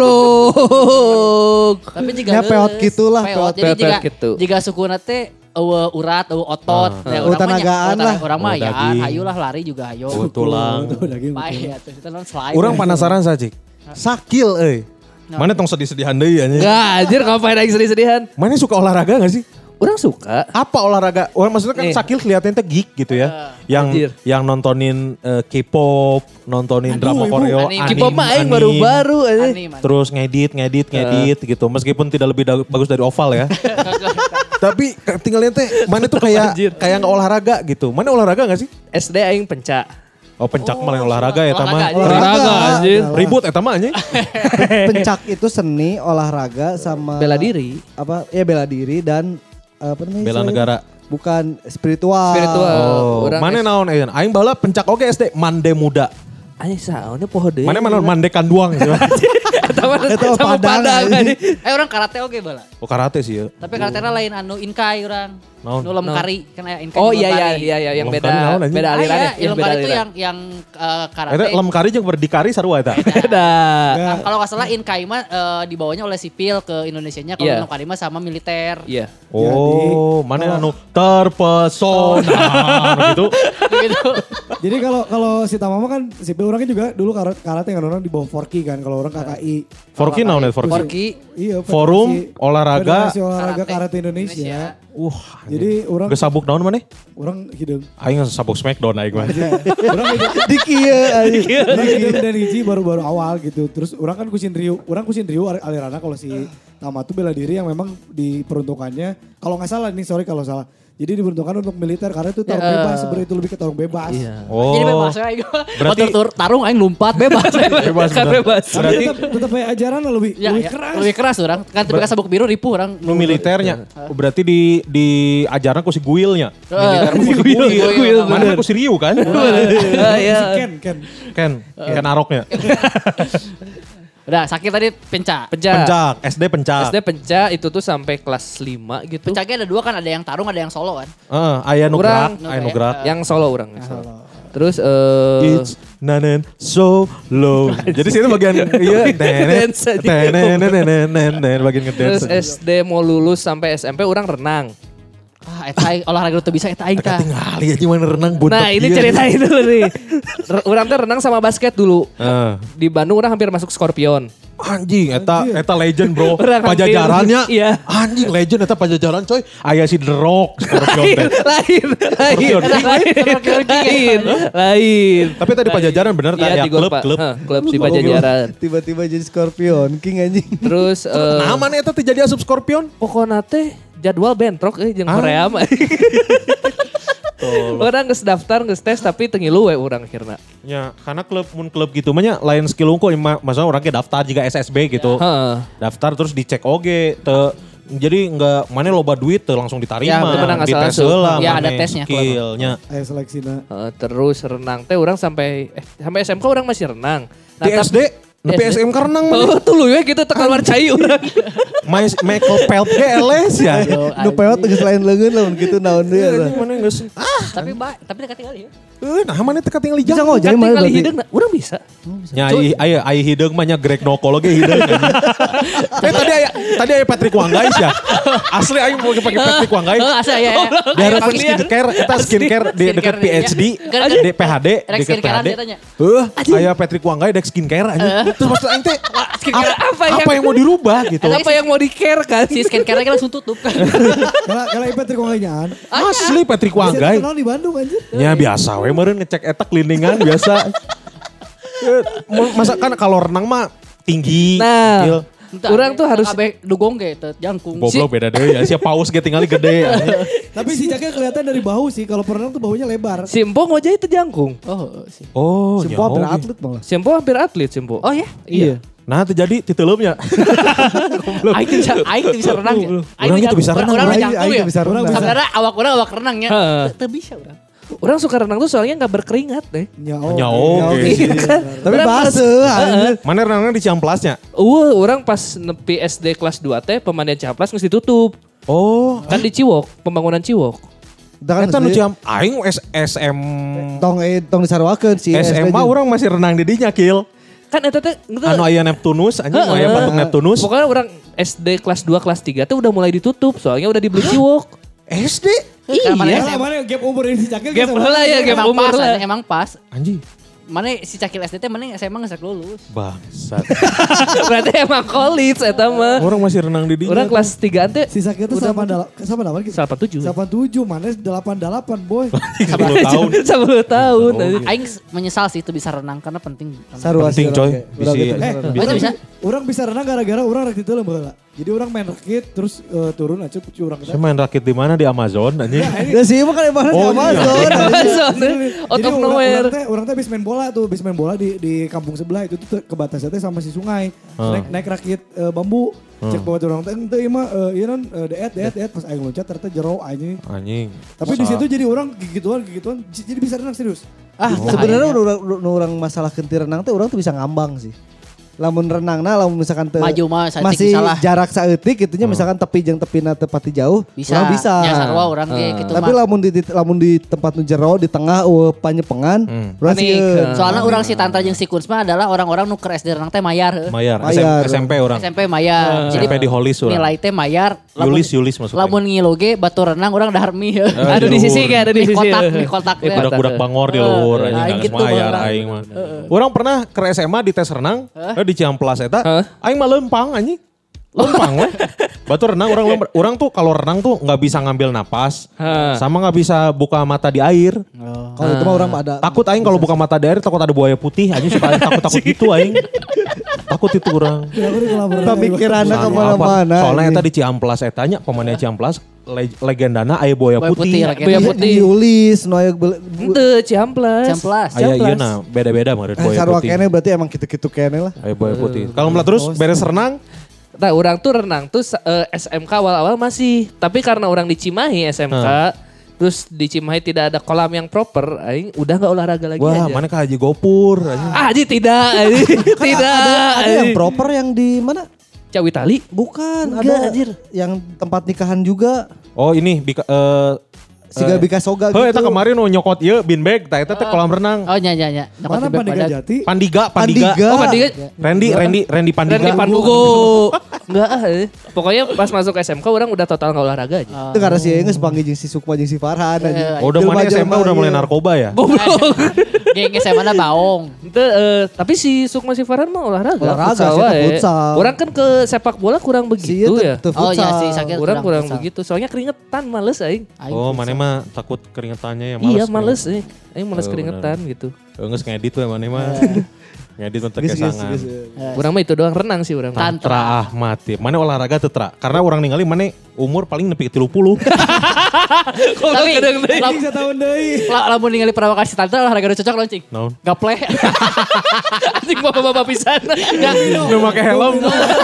Goblok. Tapi jika Ya, peot gitulah, peot. peot. Jadi Peot jika gitu. jika sukuna teh eueuh urat, eueuh otot, Ah. ya, Eueuh urang mah nya- tenagaan eueuh lah. Orang mah Eueuh ya, daging. hayu lah lari juga hayo. Oh, tulang. Pae atuh kita non slide. Orang penasaran saja. Sakil euy. Mana tong sedih-sedihan deui anjing. Enggak, anjir ngapain aing sedih-sedihan. Mana suka olahraga gak sih? Orang suka. Apa olahraga? Orang maksudnya kan Nih. Sakil kelihatannya tuh geek gitu ya. yang Anjir. yang nontonin eh, K-pop, nontonin drama Koreo, Anime. anime, K-pop mah aing anime. baru-baru aja. Anime, anime. Terus ngedit, ngedit, ngedit gitu. Meskipun tidak lebih da- bagus dari Oval ya. Tapi k- tinggalnya teh mana tuh kayak Anjir. kayak nggak olahraga gitu. Mana olahraga gak sih? S D aing pencak. Oh pencak Oh, malah olahraga ya olahraga mah. aja. Olahraga, anjir. Ribut eta mah anjing. Pencak itu seni, olahraga sama Bela diri. Apa? Ya bela diri dan apa namanya? Bela istilahnya? negara. Bukan spiritual. Spiritual. Oh, Urang mana S- naon eun? Aing baheula pencak oge S D Mande Muda. Anjing saone poho deui. Mana mana Mande Kanduang gitu. Eta mah Eta mah sama Padang, Padang anjing. anjing. Eh orang karate oke bala. Oh karate sih ya. Tapi karatena lain anu inkai orang. Naon? Nu lem kari kan aya inkai. Oh nu lem iya iya kari. iya iya yang Lem beda kari naon, anjing? beda Ah, aliran iya, ya. ilmu beda kari itu aliran. yang yang eh, karate. Eta lem kari jeung berdikari sarua eta. Beda. Nah, kalau nggak salah inkai mah eh, dibawanya oleh sipil ke Indonesianya. Kalau Iya. ilmu kari mah sama militer. Iya. Oh, mana anu terpesona gitu. Gitu. Jadi kalau kalau si Tamama kan sipil orangnya juga dulu kara- karate kan orang di bawah Forki kan. Kalau orang K K I. Forki naon eta Forki? Forki Iya, Forum Federasi- olahraga. Federasi olahraga Karate karate Indonesia. Wah, Jadi orang geus sabuk naon maneh? orang hidung. Aing sabuk Smackdown aing mah. Orang hidung. Di kieu anjing. Orang hidung dan hiji baru-baru awal gitu. Terus orang kan kusin Rio. Orang kusin Rio alirana kalau si Tama tuh bela diri yang memang diperuntukannya. Kalau nggak salah nih, sorry kalau salah. Jadi diperuntukkan untuk militer karena itu tarung Ya, eh. bebas. Sebenarnya itu lebih ke tarung bebas. Iya. Oh. Jadi bebas ya aing. Berarti- Motor tur- tarung aing lompat bebas. Bebas kan bener. bebas. Tapi Berarti tetap, tetap kayak ajaran lebih, Ya, lebih ya, keras. lebih keras orang. Kan tapi kan sabuk biru ripuh orang. nu militernya. Berarti di di ajarna ku si Guilnya. Eh, Militer ku si Guil, Guil. Guil, Mana ku si Ryu kan? Ah, Iya. Ken, Ken. Ken, Ken Aroknya. Udah sakit tadi pencak. Pencak. Pencak, S D pencak. S D pencak itu tuh sampai kelas lima gitu. Pencaknya ada dua kan, ada yang tarung, ada yang solo kan. Heeh, aya nu gerak, Urang- aya nu gerak. Yang solo orang. yang solo. Terus eh It's nanen so low. Jadi situ bagian iya tenet Dance aja. tenet tenet tenet bagian terus ngedance. S D mau lulus sampai S M P orang renang. Ah, eta aing olahraga tuh bisa eta aing tah. Tinggali aja mana renang buntet. Nah ini ieu. ceritain dulu nih. R- Orang tuh renang sama basket dulu. Heeh. Di Bandung orang hampir masuk Scorpion. Anjing, eta eta legend bro. Orang hampir. Pajajarannya. Iya. Anjing legend eta pajajaran coy. Aya si The Rock, Scorpion teh. lain, lain, lain, lain, lain. Tapi tadi pajajaran bener tadi Iya ya di klub Golpa. klub. Hah, klub di Pajajaran. Tiba-tiba jadi Scorpion King anjing. Terus eh Nah, mana eta teh jadi asup Scorpion? pokoknya teh jadwal bentrok eh jeung Ah. Korea mah. Orang geus daftar, geus tes tapi teu ngilu we urang akhirna. Ya, karena klub mun klub gitu mah nya lain skill unggul maksudnya orang ge daftar juga S S B gitu. Heeh. Daftar terus dicek oge teu jadi enggak mana loba duit teu langsung diterima. Ya, bener, nggak salah Dites langsung. heula Ya, mane ada tesnya, skillnya. Ayo seleksina. Heeh, terus renang teh orang sampai eh sampai S M K orang masih renang. Nah, Di tapi- S D Nepi S M K renang Oh, tuh lu ya gitu tekan luar cai urang. Mas Michael Phelps ge eles ya. Nu peot geus lain leungeun lamun kitu naon deui eta. Mana geus ah, Tapi ba, tapi dekat tinggal ya. eh nah mana teh kating Bisa lijang. ngojek Kan mah tinggal berarti. hideung urang bisa. Nya ai aya ai hideung mah nya Greg Nokolo ge hideung. Eh tadi aya tadi aya Patrick Wanggais ya. Asli aing mau pakai Patrick Wanggais. Oh, asa ya. ya. Daerah skincare, eta skincare di dekat P H D, di P H D, Rek dekat P H skincare-an D. dia tanya. Heuh, aya Patrick Wanggais dek skincare anjing. Terus maksud aing teh skincare apa, apa apa, yang- yang mau dirubah gitu. Apa yang mau di-care kan? Si skincare-nya langsung tutup. Kalau kalau Patrick Wanggainyaan. Asli Patrick Wanggais. Kenal di Bandung anjir. Ya biasa we meureun ngecek eta cleaningan biasa. Eh, Masa kan kalau renang mah tinggi. Nah, kecil. Urang tuh harus Kabeh dugong ge teu jangkung. Goblok beda deh ya. Si paus ge tinggali gede. anjing. Tapi si Cakil kelihatan dari bahu sih. Kalau perenang tuh bahunya lebar. Simpo ngojek itu jangkung. Oh, sih. Oh, Simpo hampir nyaho ge. atlet malah. Simpo hampir atlet Simpo. Oh ya? Iya. Nah, terjadi titeuleunya. Aing teu bisa aing teu bisa renang ya. Urang teu bisa renang, Urang Aing- jangkung aing ya. teu bisa renang. Sebenarnya awak urang awak renangnya. Heeh. Teu bisa urang. Orang suka renang tuh soalnya nggak berkeringat deh. Ya Ya, oke. Iya kan? Tapi Urang baseuh. anjir. Mana renangnya di Ciamplasnya? Uh, orang pas nepi S D kelas dua teh pemandian Ciamplas nggak ditutup. Oh, Kan di Ciwok, pembangunan Ciwok. Kita kan eta nu sendiri- Ciam aing S SM tong eh tong disarwakeun si S M A orang masih renang di dinya kill. Kan eta teh gitu. Anu aya Neptunus anjing Heeh. aya patung Neptunus. Pokoknya orang S D kelas dua kelas tiga tuh udah mulai ditutup soalnya udah dibeli Ciwok. S D Kan mana Iya. S M Mana gap umur ini si Cakil. Gap sama- heula ya, gap emang umur pas, lah. anjing, emang pas. anjing. Mana si Cakil S D teh mana S M A geus lulus. Bangsat. Berarti emang college eta mah. Orang masih renang di dinya. Orang kelas tiga teh Si Cakil tuh sama delapan sama delapan gitu. delapan tujuh. delapan tujuh mana delapan delapan boy. sepuluh tahun. sepuluh tahun. Oh, Aing menyesal sih itu bisa renang karena penting. Sarua Penting, sih, coy. oke. Bisa- Udah gitu, Eh, bisa. Bisa, orang, bisa. orang bisa renang gara-gara orang rakit itu lah. Jadi orang main rakit terus eh, turun aja cuci orang Saya main rakit di mana di Amazon anjing. Ya sih emang kan emang Oh, Amazon. iya. Amazon. Out Jadi of orang, nowhere. orang teh orang teh habis main bola tuh, habis main bola di di kampung sebelah itu tuh ke batasnya teh sama si sungai. Hmm. Naik naik rakit eh, bambu. Cek bawa orang teh ente ieu mah eh, ieu non eh, deet deet deet pas aing loncat ternyata jero anjing. Anjing. Tapi di situ jadi orang gigituan gigituan j- jadi bisa renang serius. Ah, Oh, sebenarnya kayaknya. udah orang, orang masalah kentir renang teh orang tuh bisa ngambang sih. Lamun renang nah, lamun misalkan teu Maju mah saeutik masih bisa lah. jarak saeutik gitunya misalkan tepi jeung tepina teu pati jauh, Bisa. orang bisa. Ya sarua urang ge gitu Tapi mah. lamun di, di lamun di tempat nu jero di tengah eueuh panyepengan, Hmm. urang Panik. sieun. Soalnya orang si Tantra jeung si Kunsma adalah orang-orang nu keur S D renang teh mayar. heuh. Mayar, Mayar. S M P orang. S M P mayar. S M P di Holis urang. nilai teh mayar. Yulis Yulis maksudnya. Lamun ngilu ge batu renang orang dahar mie. heuh. Eh, Ada di luhur. sisi kayak ada di Mie sisi. kotak, mie kotak. Mie teh. Budak-budak bangor di luhur Eh, anjing aing geus gitu mayar orang. aing mah. Orang pernah ke S M A di tes renang eh, di Ciamplas eta. Heeh. Aing mah lempang anjing. Lempang weh. Batu renang orang lempar. Orang tuh kalau renang tuh nggak bisa ngambil napas. Heeh. Sama nggak bisa buka mata di air. Kalau itu mah orang ada Takut aing kalau buka mata di air takut ada buaya putih. Anjing suka takut-takut gitu aing. Takut itu orang. Ya aku di kolam renang. pemikiranna Anu kemana-mana. apa? Soalnya anjing. eta di Ciamplas etanya pemainnya Ciamplas le- legendana aya buaya Buaya putih. putih, legenda. Buaya Di- putih. diulis nu aya bel- bu- Ente Ciamplas. Ciamplas. Aya ieu nah beda-beda meureun Eh, buaya sarua putih. kene berarti emang gitu-gitu kene lah. Aya buaya putih. Kalau melihat terus beres renang Nah, orang tuh renang tuh eh, S M K awal-awal masih, tapi karena orang di Cimahi S M K, terus di Cimahi tidak ada kolam yang proper, aing udah nggak olahraga lagi wah aja. mana ke Haji Gopur anjing. Ah, Haji tidak, Haji. tidak. Ada yang Haji. proper yang di mana? Cawitali. Bukan, Enggak, ada anjir. yang tempat nikahan juga. Oh ini bika, eh Siga bika soga heuh gitu. eta kemarin nu nyokot ieu beanbag tah eta teh kolam renang. Oh nya nya nya. Mana Pandega Jati? Pandiga, Pandiga. Pandiga. Oh, Pandiga. Randy, Randy, Randy Pandiga. Randy Panbugo. Enggak ah. eh. Pokoknya pas masuk S M K orang udah total nggak olahraga aja. Itu karena si Enges panggil jeung si Sukma jeung si Farhan anjing. Oh, udah mana S M K Jelma-jelma udah mulai ieu. narkoba ya? Geng S M A baong. Ente, eh, tapi si Sukma si Farhan mah olahraga. Olahraga, futsal sih, wae. futsal. Orang kan ke sepak bola kurang Si ieu begitu teu- ya. teu Oh iya futsal. sih sakit. Kurang kurang begitu. Soalnya keringetan males aing. Oh, mana mah takut keringetannya ya males. Iya males eh. Aing males Oh, keringetan gitu. Enggak ngedit we mana mah. Ngedit untuk Geus, geus, kesangan. geus. Orang mah itu doang renang sih orang. mah. Tantra Ahmad ya. Mana olahraga teu tra? Karena orang ningali mana umur paling nepi ke tilu puluh. Tapi lam- Bisa tahun deui. la- lamun ningali perawak si Tantra olahraga nu cocok loncing. Naon? Gaple. Anjing bapak-bapak pisan. Nu make helm.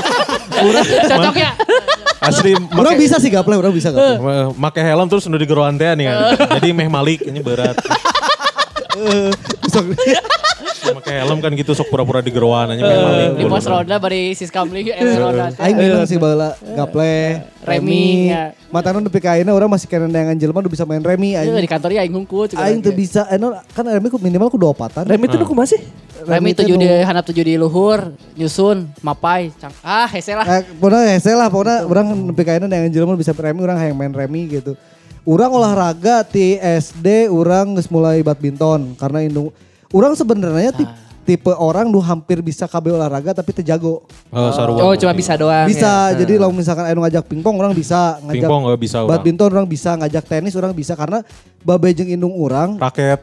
Cocok ya. Asli Orang make bisa sih gaple, orang bisa gaple. make helm terus nu digeroan teh nih kan. Jadi meh Malik ini berat. Pakai helm kan gitu sok pura-pura di geroan aja. Di pos roda bari sis kamling eh roda. Aing bingung sih baheula gaple, Remi, ya. Matana nepi ka ayeuna urang masih kena neangan jelema udah bisa main remi Iya, aing. di kantor ya aing hungkul. Aing teu bisa, eno kan remi ku minimal ku dua opatan. Remi itu nu kumaha sih? Remi teh tujuh nu- di handap tujuh di luhur, nyusun, mapai, cang. Ah, hese lah. Eh, pokoknya hese lah, pokoknya orang nepi ka ayeuna neangan jelema bisa remi, orang hayang main remi gitu. Urang olahraga ti S D, urang geus mulai badminton karena indung. Urang sebenarnya tip, tipe orang nu hampir bisa kabeh olahraga tapi teu jago. Oh, sarua. Oh, cuma bisa doang. Bisa, ya. jadi kalau misalkan anu ngajak pingpong orang bisa, ngajak Pingpong nggak bisa orang. badminton orang bisa, ngajak tenis orang bisa karena babe jeung indung urang. Raket.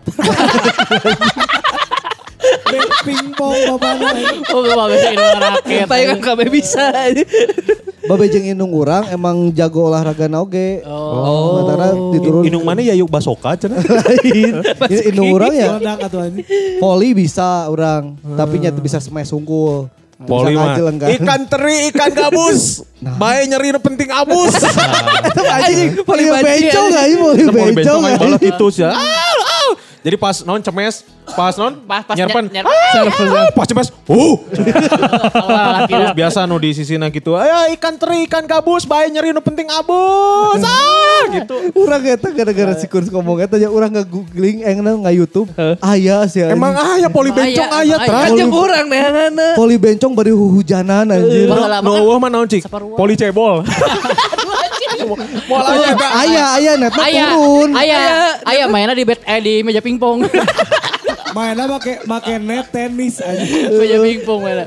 Pingpong bapana. Oh, gua bisa ini raket. Tayangan kabeh bisa. Babe jeung indung urang emang jago olahraga na oge. Oh. Matana diturun. Indung mana ya yuk basoka cenah. lain. Indung urang ya Meledak atuh anjing. volley bisa orang, tapi nya teu bisa smash unggul. Poli Bisa mah. ngajel enggan. Ikan teri, ikan gabus. Bae nyeri nu penting abus. Anjing, volley Volley bencong banci, enggak ini volley Kita mau bencong bencong aja enggak balas itu sih. Ah, ah. Jadi pas non cemes, pas non Pas- pas nyerpan. nyer- Ah, pas cemes. Uh. Allah laki Terus biasa nu di sisina gitu. Ayo ikan teri, ikan gabus, bae nyeri nu penting abus. Ah, gitu. Urang eta gara-gara si Kurs ngomong eta nya urang nge-googling engna nga YouTube. Aya sih. anjing. Emang aya poli Emang bencong aya, aya emang tra. aya. Aja kurang neanganna. volley bencong bari hujanan anjir. Wah, No, lama no kan. eueuh mah naon cik? Saparua. Poli cebol. Moal aya eta. Aya aya netna Ayah, turun. ayah, ayah mainnya di bed, eh, di meja pingpong. Mainnya make make net tenis anjing. Meja pingpong mainnya.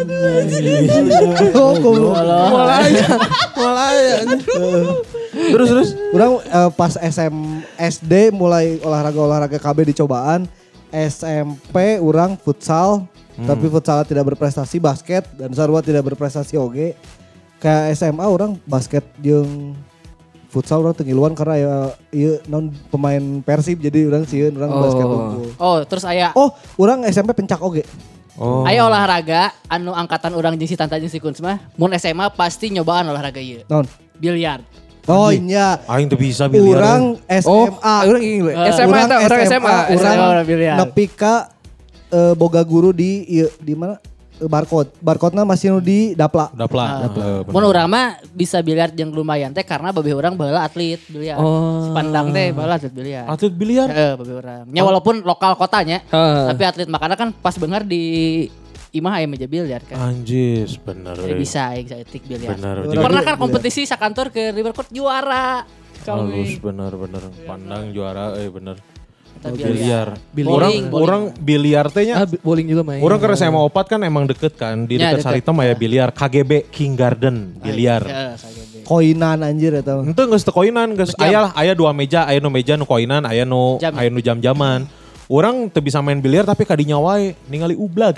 Oh, goblok. Moal aya. Moal aya. Terus terus. Urang eh, pas S M S D mulai olahraga-olahraga K B dicobaan. S M P urang futsal, tapi futsal tidak berprestasi, basket dan sarua tidak berprestasi oge. Ke S M A orang basket jeung futsal orang tengiluan karena ya ieu non pemain Persib jadi orang sieun orang Oh. basket unggul. Oh, terus ayah, Oh, orang S M P pencak oge. Oh. ayah olahraga, anu angkatan orang jeung si Tanta jeung si Kuns mah, mun S M A pasti nyobaan olahraga ieu. Non. Biliar. Oh iya. Aing tuh bisa biliar. Urang S M A. Orang ini Eh, S M A eta orang S M A. S M A Urang orang biliar. nepi ka eh, boga guru di ieu di mana? Eh, Barcode. Barcode-na masih nu di Dapla. Dapla. Ah. Mun urang mah bisa biliar jeung lumayan teh karena babe urang baheula atlet biliar. Oh. Pandang teh baheula atlet biliar. Atlet biliar. Heeh, babe urang. Nya walaupun lokal kotanya, Heeh. tapi atlet makanya kan pas bener di imah aya meja biliar kan. Anjis, bener. Jadi bisa aing saeutik biliar. Bener. Pernah kan kompetisi sakantor ke Rivercourt juara. Halus Kami. bener bener. Pandang juara eh bener. Kita Biliar. Bowling, Orang bowling. orang biliar teh nya. Ah, bi- bowling juga main. Orang ke S M A opat kan emang deket kan. Di Ya, deket deket. Saritem aya biliar. K G B King Garden biliar. Heeh, K G B. Koinan anjir eta. Ente geus teu koinan, geus Jam. aya lah, aya dua meja, aya nu meja nu koinan, aya nu Jam. aya nu jam-jaman. Orang teu bisa main biliar tapi kadinya wae ningali ublag.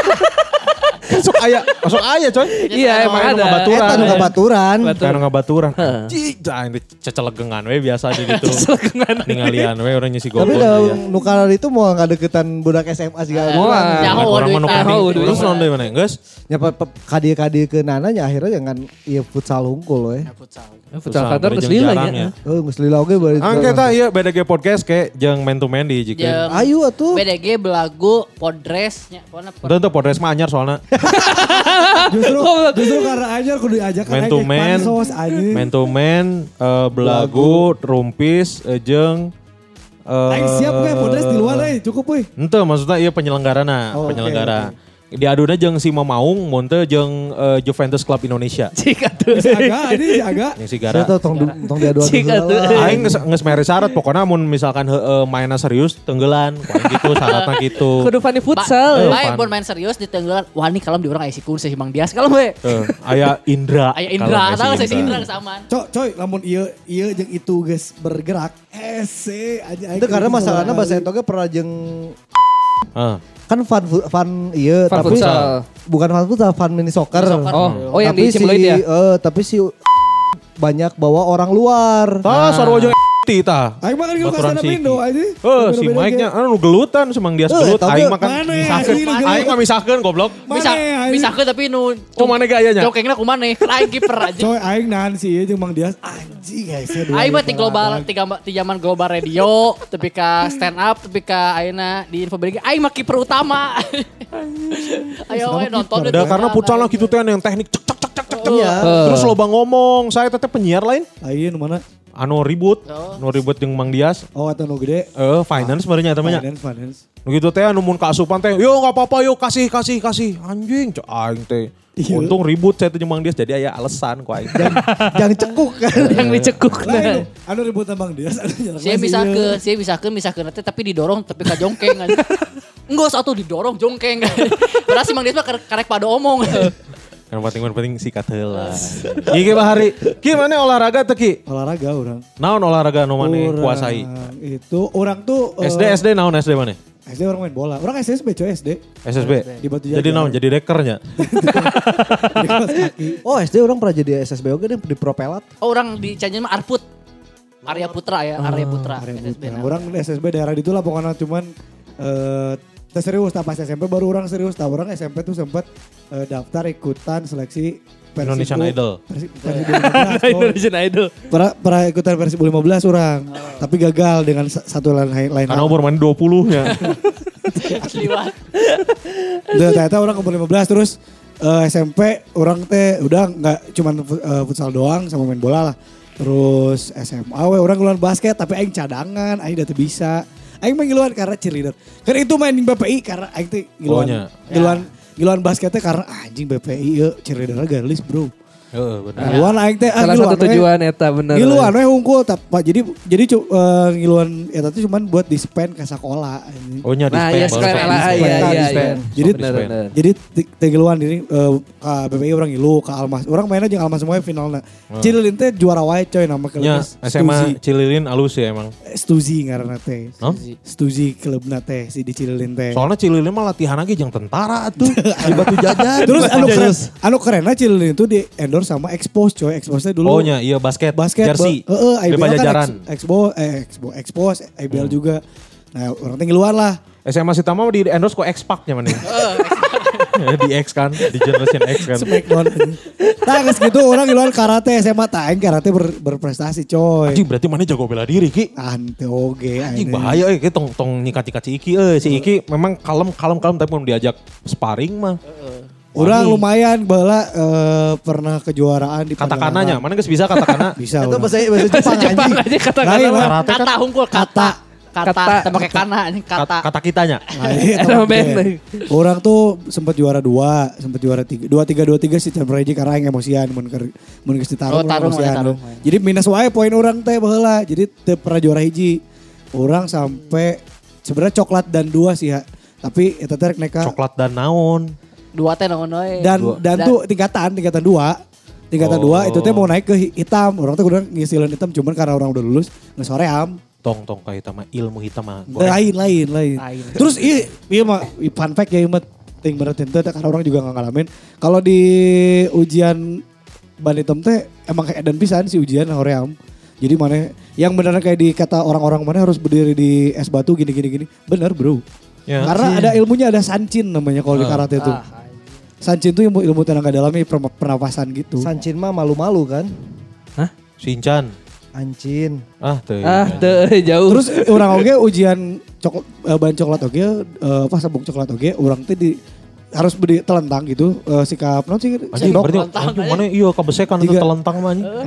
Sok aya, sok aya coy. Iya, emang Aya nu ada. ngabaturan. Eta nu kabaturan. Kayak nu ngabaturan. Cik, dah ini cecelegengan we biasa di ditu. Ningalian we orang nyisi Tapi gopon da aya. nu kana itu mau ngadeketan budak S M A juga. Moal. Nyaho Orang duit mah nu tah. kanding. duit Terus mah. non deui mana, geus? Nya kadi-kadi ke nananya akhirnya jangan ieu futsal hungkul we. Futsal. Futsal kantor bari geus jeung lila jarang nya. Oh, geus lila oge bari. Angke eta ieu B D G podcast kayak jeung man to man di Jeung jikeun. Ayo atuh. B D G belagu podres nya pokona pod- Tentu podcast mah anyar soalna. Justru justru karena anyar kudu diajak Man to man, pansos anjing. man to man, eh, belagu, rumpis, eh, jeung eh, Aing siap ge podcast di luar euy, cukup euy. Ente maksudnya iya penyelenggarana, Oh, oke, penyelenggara. Diaduna jeung si Mamaung, monte jeung eh, Juventus Club Indonesia. Cik atuh. Si Aga ini si Aga. Yang si Saya Gara. tuh tong du- tong diadu-adu Cik atuh. heula. Aing geus geus mere syarat pokoknya mun misalkan heueuh mainna serius tenggelan, pokoknya gitu syaratna gitu. Kudu Fanny Ba- futsal. Eh, Baik Fan. mun main serius di tenggelan. Wah ini kalem di orang aya si Kun si Mang Dias kalem we. Tuh, aya Indra. Aya Indra, Kalau tahu si Indra kesamaan. Cok, coy, lamun ieu ieu jeung itu geus bergerak. Ese aja. Itu karena masalahnya bahasa Etoge pernah jeung Heeh. kan fun fun iya Fun tapi futsal. bukan fun futsal fun mini soccer. Mini soccer. Oh, oh yang tapi di si Cimloid ya? eh, tapi si banyak bawa orang luar. Tah sarua jeung Tita. Aing makan ke Baturan kasana Siki. Pindo aja. Oh, si Mike-nya anu gelutan semang dia Eh, gelut. tapi Aing makan mana ya, misakeun. anjing, nu Aing mah misakeun goblok. Bisa, Mana, bisa ke tapi nu Oh, mana gayanya? jokengna kumaneh, lain kiper aja. Coy aing nahan sih jeung Mang Dias anjing guys ya. Aing mah ti global, ti gamba- ti zaman global radio, tapi ka stand up, tapi ka ayeuna di info break, aing mah kiper utama. Ayo we nonton Udah karena pucal lah gitu teh yang teknik cek cek cek cek cek. Iya. Terus loba ngomong, saya teteh penyiar lain. Ayeuna mana? Anu ribut, anu ribut jeung Mang Dias. Oh atau nu gede. Eh, finance sebenarnya temannya. Finance, finance. Nu gitu teh anu mun kaasupan teh, yo enggak apa-apa yo kasih kasih kasih. Anjing, cok aing teh. Iya. Untung ribut saya teh jeung Mang Dias jadi aya alasan ku aing. Jangan cekuk kan. Yang dicekuk. Lain anu ribut Mang Dias anu nyerang. Saya bisa ke, saya bisa ke, bisa ke nanti tapi didorong tapi ka jongkeng aja. Enggak satu didorong jongkeng. Padahal si Mang Dias mah karek karek pada omong. Yang penting penting sikat heula. Iki Pak Hari, ki mana olahraga teh ki? Olahraga orang. Naon olahraga nu maneh Orang kuasai? Itu orang tuh eh, S D S D naon S D maneh? S D orang main bola. Orang S D S B coy S D. S S B. Di Batu Jadi Jajar. naon? Jadi dekernya. Di kelas kaki. Oh S D orang pernah jadi S S B oke deh di Propelat. Oh, orang di Cianjur mah Arput. Arya Putra ya, Arya Putra. Area S S B Putra. nah. Orang S S B daerah itu lah pokoknya cuman eh teh serius tak pas S M P baru orang serius. Tak orang S M P tuh sempat eh, daftar ikutan seleksi Persibu- Indonesian Idol. Persi- Persibu lima belas. coy. Indonesian Idol. Pernah, pernah ikutan Persibu lima belas orang. Tapi gagal dengan sa- satu lain lain. Karena umur mana dua puluh-nya. Asli banget. Udah ternyata orang umur lima belas terus eh, S M P orang teh udah nggak cuman eh, futsal doang sama main bola lah. Terus S M A we orang ngeluaran basket tapi aing cadangan, aing udah teu bisa. Aing mah ngiluan karena cheerleader. Karena itu main di B P I karena aing teh ngiluan. Oh, nya. Ngiluan ngiluan basketnya karena anjing B P I yeuh cheerleader galis bro. Heeh, bener. Ngiluan aing teh ah, Salah ngiluan satu we. tujuan eta bener. Ngiluan we hungkul tap- jadi jadi cu- eh, ngiluan eta tuh cuman buat di-spend ke sekolah anjing. Oh nya Nah, dispen, iya baru sekalian sok lah, dispen. iya, iya, Dispen. iya. Jadi Sok Bener, dispen. bener. Jadi ti- teh ngiluan diri eh, ke B P I orang ngilu ke Almas. Orang mainnya jeung Almas semuanya finalnya. Cililin teh juara wae coy nama Nya klubnya S M A Cililin alus ya emang. Stuzi ngaranna teh. Hah? Stuzi klubna teh si di Cililin teh. Soalnya Cililin mah latihan lagi jeung tentara tuh. Di Batu Jajar. Terus Di Batu anu keren, Jajar. anu kerennya Cililin itu di endorse sama Expose coy. Expose teh dulu Oh nya iya basket. basket. Jersey. Heeh, Di I B L kan Pajajaran. Ex- Expo eh Expo Expose I B L juga. Nah, orang teh ngiluan lah. S M A Sitama di endorse kok X-Pac nya mana. Di X kan, di Generation X kan. Smackdown. Nah, geus gitu orang ngiluan karate S M A tah aing karate ber, berprestasi coy. Anjing berarti mana jago bela diri Ki. Ante oge Anjing aing. bahaya euy, Ki tong tong nyikat-nyikat si Iki euy. Si Iki memang kalem kalem kalem tapi belum diajak sparring mah. Orang lumayan bala eh, pernah kejuaraan di Kata-kananya, mana geus bisa kata-kana? Bisa. Itu orang. bahasa bahasa Jepang Jepang anjing. aja kata-kata. Lain lah. Karate kan Kata hungkul kata. Kata, Kata. kata pakai kana ini kata, kata. kata kitanya. Nah, iya, Eta mah teman band. teh. Orang tuh sempat juara dua, sempat juara tiga, dua tiga dua tiga si Champion Reji karena yang emosian, mun keur mun geus ditarung Oh, tarung, emosian. tarung. Jadi minus wae poin orang teh baheula. Jadi teu pernah juara hiji. Orang sampai sebenarnya coklat dan dua sih ya. Tapi eta teh rek neka Coklat dan naon. Dua teh naon we. dan Dua. dan tuh tingkatan tingkatan dua. Tingkatan Oh. dua itu teh mau naik ke hitam. Orang tuh udah ngisilin hitam cuman karena orang udah lulus nggak soream. Tong tong kayak hitam mah ilmu hitam mah. Lain lain lain. Lain. Terus iya iya mah fun fact ya ieu ting bener teh karena orang juga nggak ngalamin. Kalau di ujian ban hitam teh emang kayak dan pisan si ujian hoream. Jadi mana yang benar kayak di kata orang-orang mana harus berdiri di es batu gini gini gini. Bener bro. Ya. Karena ada ilmunya ada sancin namanya kalau di karate itu. Ah, Sancin itu ilmu ilmu tenaga dalamnya per- pernapasan gitu. Sancin mah malu-malu kan. Shinchan. Ancin. Ah, tuh. Ah, teu jauh. Terus orang oge ujian coklat eh, ban coklat oge eh, apa sabuk coklat oge orang teh di harus beri telentang gitu eh, sikap non sih Anjing sendok. berarti telentang anjing aja. mana iya kebesekan itu Tiga. telentang mah anjing.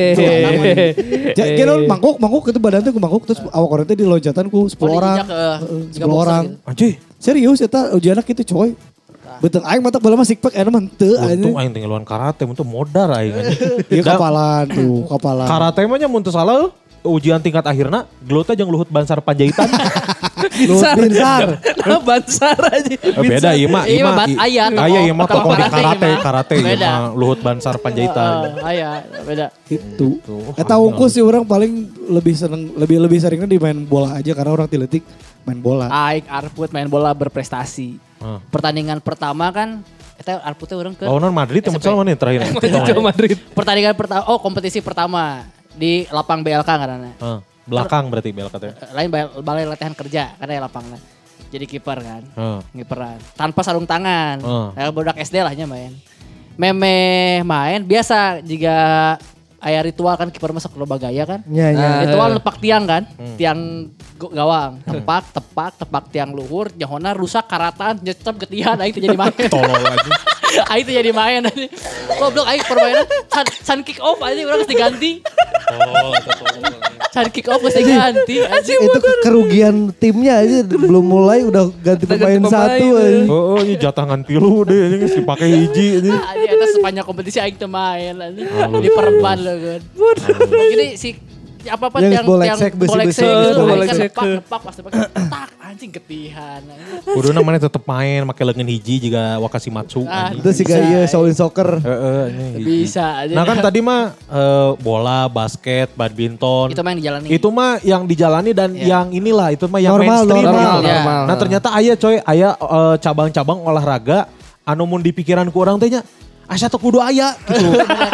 Hehehe. Ja- kira mangkuk mangkuk itu badan teh ku mangkuk terus awak orang teh di loncatan ku sepuluh Oh, orang. diinjak, eh, Heeh, jika sepuluh boxer orang. gitu. Anjing. Serius eta ujianna kitu coy. Betul aing mata bola mah sikpak eta mah henteu Untung anjing. aing tinggalan karate untuk modar aing anjing. Ieu Da- kapalan tuh, kapalan. Karate mah nya mun teu salah ujian tingkat akhirna gelutnya jeung Luhut Bansar Panjaitan. Luhut Binsar. Nah, Bansar aja. Eh, beda ieu mah Iya, ieu mah bat- i- aya, tokoh- aya ieu mah tokoh tokoh di karate karate ieu mah. karate ieu Beda. mah Luhut Bansar Panjaitan. Ah, aya, beda. Itu. Tuh, Eta unggul sih orang paling lebih seneng lebih lebih seringnya di main bola aja karena orang tiletik main bola. Aik Arput main bola berprestasi. Ah. Pertandingan pertama kan eta Arputnya orang ke Lawanan Madrid yang S M P. futsal mana terakhir? Atletico Madrid. pertandingan pertama oh kompetisi pertama di lapang B L K karena. Ah. Belakang berarti belak katanya. Lain balai, balai latihan kerja karena ya lapangnya. Jadi kiper kan. Heeh. Ngiperan. Tanpa sarung tangan. Heeh. Kayak budak S D lah nya main. Meme main biasa jika aya ritual kan kiper masuk loba gaya kan. Nya nya. Nah, ritual nepak tiang kan. Tiang go- gawang. Tepak, tepak, tepak tiang luhur. Jahona rusak karatan. Nyecep getihan. Aing teu jadi main. Tolol aja. Aing teu jadi main. Goblok aing permainan. Can, can kick off aja orang harus diganti. Tolol atau tolol. Can kick off harus diganti. Itu ke- kerugian timnya aja belum mulai udah ganti Udah pemain ganti pemain, satu. eh. aja. Oh, oh, ini jatangan tilu deh, ini geus dipake hiji ini. Aja eta sepanjang kompetisi aing teu main anjing. Di perban loh kan. Jadi si apa-apa Yang yang boleksek, yang besi-besi. boleksek gitu, Boleksek. aing kan nepak nepak pas nepak tak anjing ketihan. Kuduna mana tetep main make leungeun hiji juga Wakashimatsu Ah, anjing. Itu sih kayak iya Shaolin Soccer. Heeh, ini hiji. Bisa aja. Nah kan tadi mah eh, bola, basket, badminton. itu mah yang dijalani. Itu mah yang dijalani dan Ya. yang inilah itu mah yang Normal, mainstream. normal, gitu. normal. Nah ternyata aya coy, aya eh, cabang-cabang olahraga anu mun di pikiran ku urang teh nya asa teu kudu aya gitu.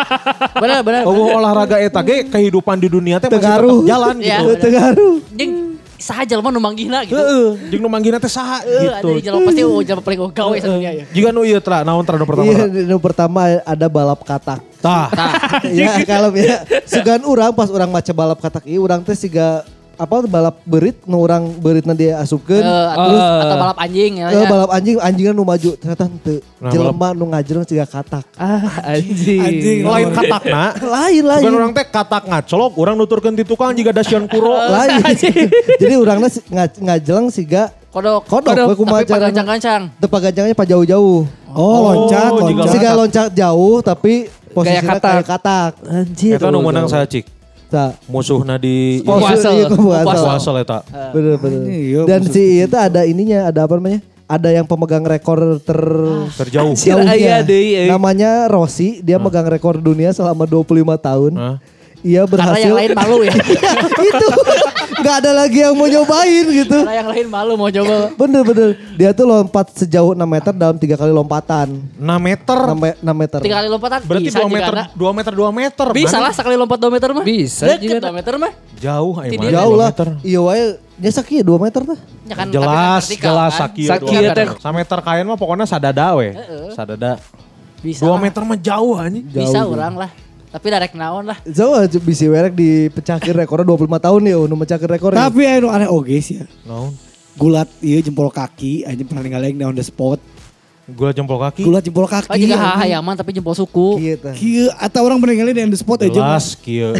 Benar benar. Oh olahraga eta ge kehidupan di dunia teh masih Tegaruh. tetep jalan Iya. gitu. Tegaruh. Jeung saha jelema nu manggihna gitu. Heeh, jeung nu manggihna teh saha Heeh, gitu. ada jelema pasti oh jelema paling gawe sadunia ya. Jika nu ieu tra, naon tra nu pertama? Iya, Tra? yang pertama ada balap katak. Tah. Ya kalau ya sugan urang pas urang maca balap katak ieu urang teh siga apa balap berit nu urang beritna dia asupkeun. Eh, atau, atau balap anjing ya. Eh, balap anjing anjingna nu maju ternyata henteu. Nah, Jelema nu ngajereun siga katak. Ah, anjing. Anjing. Lain katakna. Lain lain. Bukan orang teh katak ngacolok, orang nuturkeun ti tukang jiga dasian kuro. Lain. Jadi urangna si- nga- ngajelang siga Kodok. kodok, Kodok, we kumaha tapi carana. pagancang-gancang. teu pagancangnya pa jauh-jauh. Oh, loncat, Oh, juga loncat. Siga loncat jauh tapi posisinya katak. kayak katak. Anjir. Eta nu meunang saha cik? Tah. Musuhna di Oh, Puasel. iya, puasel. puasel eta. Bener bener. Iya, Dan maksud- si itu ada ininya, ada apa namanya? Ada yang pemegang rekor ter Terjauh. Anjir, aya deui, eh. Namanya Rossi, dia megang rekor dunia selama dua puluh lima tahun. Hah? Ia Karena berhasil. yang lain malu ya. Itu nggak ada lagi yang mau nyobain gitu. Karena yang lain malu mau coba. Bener-bener. Dia tuh lompat sejauh enam meter dalam tiga kali lompatan. enam meter. enam me- enam meter. Tiga kali lompatan Berarti bisa dua juga meter, ada. dua meter, dua meter. Bisa Mana? lah sekali lompat dua meter mah. Bisa Deket juga. dua meter mah. Jauh ayo Tidak. mana, Jauh dua lah. meter. Iya wae. Nya sakieu dua meter tah. Ya kan, Jelas, tapi vertikal jelas kan. sakieu Sakieu dua meter. teh. Sameter kain mah pokoknya sadada we. Sadada. Bisa Dua lah. meter mah jauh anjing. Bisa Jauh. orang lah. Tapi direct naon lah. Jauh aja bisa werek dipecahkeun rekornya dua puluh lima tahun ya, nu mecahkeun rekornya. Tapi anu aneh oge sih ya. Naon? Gulat iya jempol kaki, anjing pernah ninggalin on the spot. Gua jempol kaki. Gulat jempol kaki. Oh juga anjing. hahayaman tapi jempol suku. Kieu tah. Kieu atau orang pernah ninggalin on the spot aja. Jelas kieu.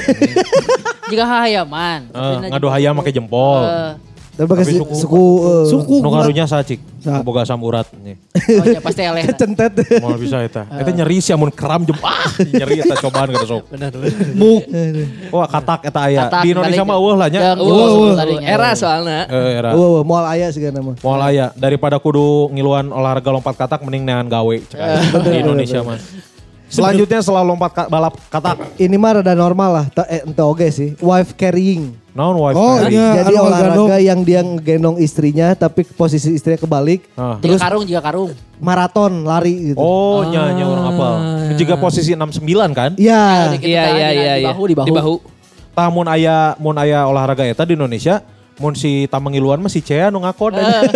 Juga hahayaman. Eh, ngadu hayam make jempol. Tapi pakai Tapi si- suku. suku eh, Suku Nu gulat. karunya saha cik? Saha? Boga samurat nih. Oh ya pasti eleh. kecentet. Moal bisa eta. Eta nyeri sih amun kram jem ah nyeri eta cobaan kada sok. Muk. Wah katak eta aya. Katak, Di Indonesia balik. mah eueuh lah nya. Jeung Oh, jempol suku oh, tadinya. era soalnya. Eh, era. Wah, wah, moal aya sih nama. Moal aya daripada kudu ngiluan olahraga lompat katak mending neangan gawe cek aya. Di Indonesia mah. Selanjutnya setelah lompat ka- balap katak. Ini mah rada normal lah, Ta- eh, ente oge sih. Wife carrying. Naon wife Oh, carry? iya. Jadi anu olahraga ngegandong. yang dia ngegendong istrinya tapi posisi istrinya kebalik. Ah. Juga karung juga karung. Maraton lari gitu. Oh, nya nya orang apal. Jika posisi enam sembilan kan? Iya. Dikit Iya teh, iya di- iya Di iya. bahu di bahu. Di bahu. Tah mun aya mun aya olahraga eta di Indonesia, mun si tamangiluan mah si Cea nu ngakod aja.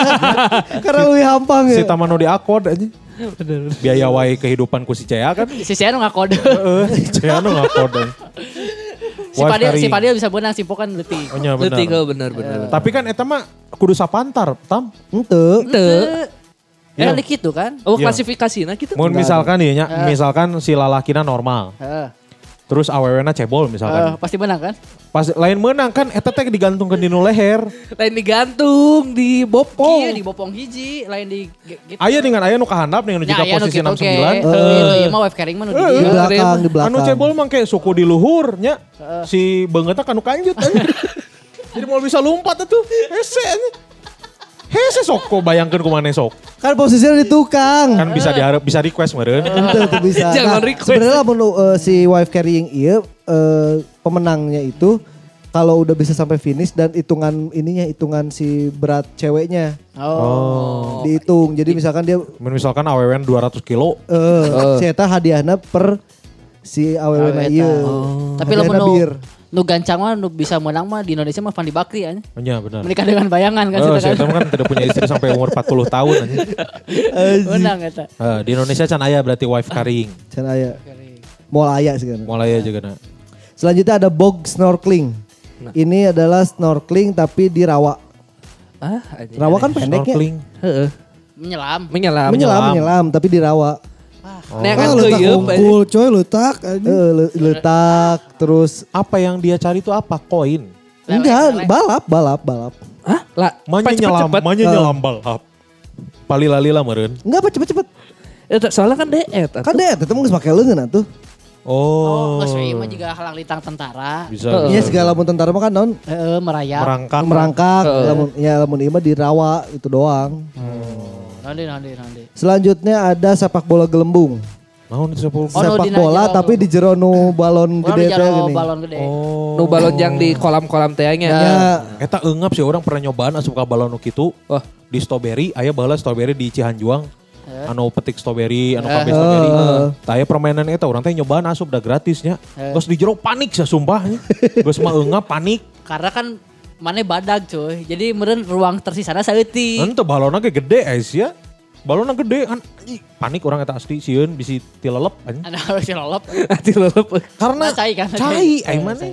Karena lebih hampang ya. Si tamanu diakod aja. Biaya wae kehidupan ku si Cea kan. Si Sianu nggak kode. Heeh, Cea nu ngakod. aja. Si Wife Padil, si carrying. Padil bisa benang, si Pokan letih. Oh, nya bener. Leutik oh, bener bener. Tapi kan eta mah kudu sapantar, Tam. Ente. Teu. Ya Iya. kan gitu kan. Oh Iya. klasifikasinya gitu. Mun misalkan ieu nya, Eh. misalkan si lalakina normal, Heeh. terus awewena cebol Eh, misalkan. pasti benang kan? Pas lain menang kan eta teh digantungkeun di nu leher. Lain digantung di bopong. Iya di bopong hiji, lain di ge- gitu. Aya dengan aya nu kahandap dengan Ya, jika aya nu posisi gitu enam ge. sembilan. Gitu, ieu mah wave carrying mah nu di Eh, Di dieu. belakang, di belakang. Anu cebol mah kayak suku di luhur nya. Si beungeutna kanu kanjut aja. Jadi mau bisa lompat atuh. Hese aja. Hese sok kok bayangkeun kumaneh sok. Kan posisinya di tukang. Kan bisa diharap bisa request meureun. Ente itu bisa. Jangan Nah, request. sebenarnya lamun uh, si wife carrying iya uh, pemenangnya itu kalau udah bisa sampai finish dan hitungan ininya hitungan si berat ceweknya Oh. dihitung. Jadi misalkan dia Men misalkan awewen dua ratus kilo. eh si eta hadiahna per si awewena Aweta. ieu. Tapi Hadiahna lamun nu bir. Nu gancang mah nu bisa menang mah di Indonesia mah Fandi Bakri ya. Oh, iya benar. Menikah dengan bayangan kan Oh, situ saya kan. kan tidak punya istri sampai umur empat puluh tahun aja. Menang eta. Eh, di Indonesia can aya berarti wife carrying. Can aya. Moal aya sih kan. Mulai aja kena. Selanjutnya ada bog snorkeling. Ini adalah snorkeling tapi di rawa. Ah, anjing. Rawa kan pendeknya. Snorkeling. Heeh. Menyelam. Menyelam. Menyelam, menyelam tapi di rawa. Nek kan Ah, letak geuyeum, unggul coy letak. anjing. Eh, le- letak terus Apa yang dia cari itu apa? Koin. enggak balap, balap, balap. Hah? Lah, Manya cepet, nyelam, cepet. manya nyelam balap. Palila-lila meureun. Enggak apa cepet-cepet. Eta soalnya kan deet. Kan deh, itu mah geus make leungeun atuh. Oh, Oh. geus we mah juga halang litang tentara. Bisa. Iya bisa. segala lamun tentara mah kan naon Heeh, merayap. merangkak. merangkak, Heeh. lamun ya lamun ieu mah di rawa itu doang. Nanti nanti nanti. Selanjutnya ada sepak bola gelembung. Naon itu sepuluh. Oh, nu sepak dina bola jero tapi nu. di jero nu balon Orang gede di teh jaro gini. balon gede. Oh. Nu balon yang di kolam-kolam teh nya. Ya, Eta eungap sih orang pernah nyobaan asup ka balon nu kitu. Wah. Di strawberry, aya baheula strawberry di Cihanjuang. Anu petik strawberry, anu kafe Eh. strawberry. Heeh. Tah aya permainan eta urang teh nyobaan asup da gratisnya. Eh. Terus di jero panik sia sumpah. Geus mah eungap panik. Karena kan mana badag cuy. Jadi meureun ruang tersisana saeutik. Henteu balonna ge gede ais ya. Balonna gede kan anjing, panik orang eta asli sieun bisi tilelep anjing. Ada harus lolop. Ati lelep. Karena Nah, cai kan, cai cai. ai Eh, mana. cai.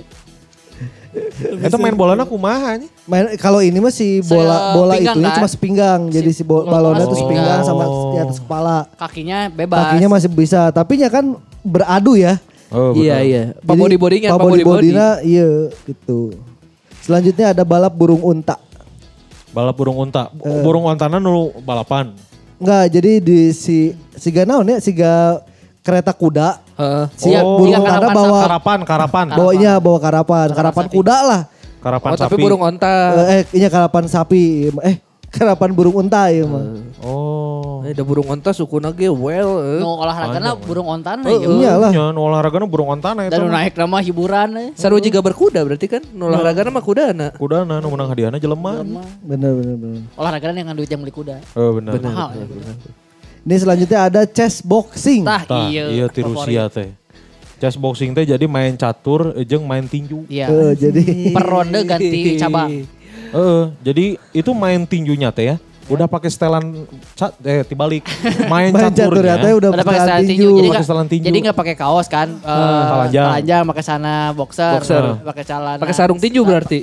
Eta main bolana kumaha anjing. main kalau ini mah si bola bola Sepinggang, itunya kan? cuma sepinggang. Jadi si bo- bola balonnya bola tuh sepinggang sama sepinggang. di atas kepala. Kakinya bebas. Kakinya masih bisa, tapi nya kan beradu ya. Oh, Iya iya. Pak body bodingan, Pak body body body. bodina iya gitu. Selanjutnya ada balap burung unta. Balap burung unta. Eh. Burung untana nu balapan. Enggak, jadi di si siga naon ya, siga kereta kuda. Heeh. Siap, Oh, iya, burung unta karapan bawa Karapan, karapan. bawanya bawa karapan, karapan sapi. kuda lah. Karapan Oh, sapi. tapi burung onta. Eh, eh iya karapan sapi. Eh, karapan burung unta ya mah. Oh. Eh, ada burung onta sukuna ge well. eh. Nu olahragana burung ontan Eh, iyalah. Nya nu olahragana burung ontana eta. Dan nu naik nama hiburan eh. Sarua juga berkuda berarti kan? Nu olahragana mah kudana. Kudana nu menang hadiahna jelema. Bener bener bener. Olahragana yang duit yang beli kuda. Oh benar. Mahal. ya. Ini selanjutnya ada chess boxing. Tah Tah, iya. iya ti favorit. Rusia teh. Chess boxing teh jadi main catur jeung main tinju. Iya. Eh, jadi Per ronde ganti cabang. Heeh, jadi itu main tinjunya teh ya. Udah pakai setelan ca- eh tibalik. Main, main catur ya caturnya. teh udah Udah pakai pakai setelan tinju. tinju. Jadi Pakai nggak setelan tinju. jadi nggak pakai kaos kan? Eh, telanjang. telanjang, pakai sana boxer, Boxer. pakai celana. Pakai sarung tinju berarti.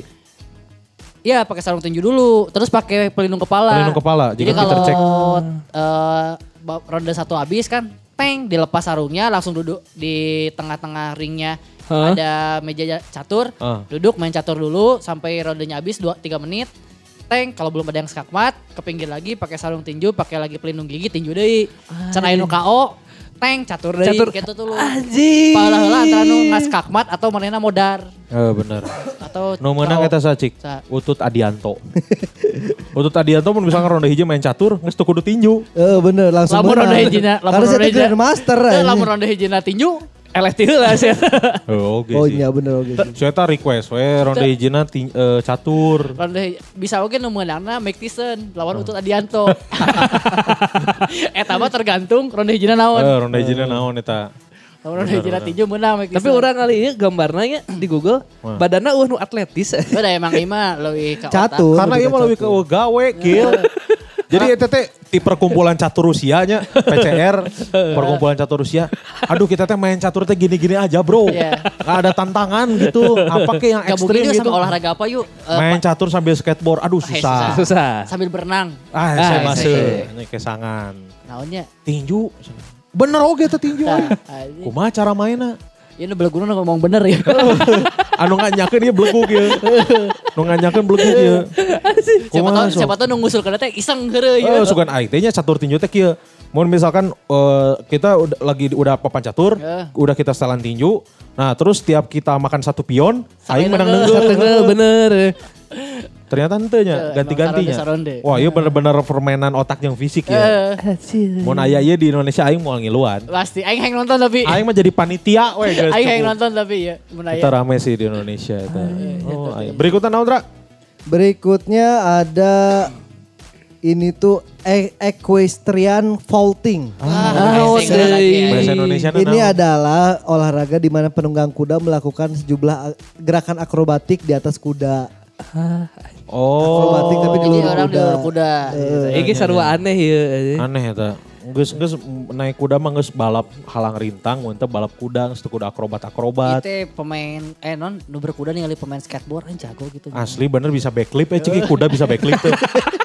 Iya, pakai sarung tinju dulu, terus pakai pelindung kepala. Pelindung kepala, Jadi jika kalau kita cek. eh, ba- ronde satu habis kan, peng dilepas sarungnya, langsung duduk di tengah-tengah ringnya. Hah? Ada meja catur, Ah. duduk main catur dulu sampai rondenya habis dua tiga menit. Teng, kalau belum ada yang skakmat, ke pinggir lagi pakai sarung tinju, pakai lagi pelindung gigi tinju deui. Can aya nu K O, teng catur deui Catur. gitu tuh lu. Anjing. Palah heula antara nu ngaskakmat atau manehna modar Eh bener. atau Nu meunang K O. eta sacik. Sa- Utut Adianto. Utut Adianto mun misalkan ronde hiji main catur, geus teu kudu tinju. Eh bener langsung Lamun menang. ronde hijina, lamun Karena saya ronde hijina. grandmaster. Teu, anjing. lamun ronde hijina tinju, Eleh heula sih. Oh, oke Oh sih. iya bener oke. Saya tak request, we ronde hijina ting- eh, catur. ronde hij- bisa oge nu meunangna Mike Tyson lawan Utut Adianto. Eta mah tergantung ronde hijina naon. Eh, ronde hijina naon eta? Lamun ronde hijina tinju meunang Mike Tyson. Tapi orang kali ini gambarnya nya di Google, Wah. badannya uh nu atletis. Udah emang ima leuwih ka otak. Catur. Karena ieu mah leuwih ke gawe kieu. Jadi eta teh di perkumpulan catur Rusianya, P C R, perkumpulan catur Rusia. Aduh kita teh main catur teh gini-gini aja, Bro. Iya. Nggak ada tantangan gitu. Apa kayak yang Gabungin ekstrim yuk gitu. sama olahraga apa yuk? Eh, Main pa- catur sambil skateboard. Aduh Eh, susah. Susah. sambil berenang. Ah, Ah, saya iya, masuk. iya. Ini kesangan. Naonnya? Tinju. Bener oge teh tinju. Tah, ah. anjing. Kumaha cara mainna? Ya nu beleguna ngomong bener ya. Anu nganyakeun ieu belegug ieu. Nu nganyakeun belegug ieu. Siapa Kumaha, tahu sok? siapa tahu nu ngusulkeun teh iseng heureuy Eh, ya. sugan aing teh nya catur tinju teh kieu. Mun misalkan eh, kita udah lagi udah papan catur, Eh. udah kita setelan tinju. Nah, terus tiap kita makan satu pion, aing menang nengeun. nengeun. Bener bener. Ternyata henteu nya, Eh, ganti-gantinya. emang saronde, saronde. Wah, ieu bener-bener permainan otak yang fisik ya. Eh, Mun aya ieu di Indonesia aing moal ngiluan. pasti aing hayang nonton tapi. Aing mah jadi panitia we geus. Aing hayang cukup. nonton tapi ya. Mun aya. Kita rame sih di Indonesia itu. Oh, ayo. Berikutnya naon, Dra? Berikutnya ada ini tuh e- equestrian vaulting. Ah, Oh, bahasa Inggris lagi ya. Bahasa Indonesia Ini adalah olahraga di mana penunggang kuda melakukan sejumlah a- gerakan akrobatik di atas kuda. Oh. Akrobatik tapi di Jadi luar orang di kuda. luar kuda. Ini sarua aneh ya. Aneh eta. Geus geus naik kuda mah geus balap halang rintang, mun teu balap kuda, geus teu kuda akrobat-akrobat. Itu pemain eh non nu berkuda ningali pemain skateboard kan jago gitu. Asli bener bisa backflip eh ceki kuda bisa backflip tuh.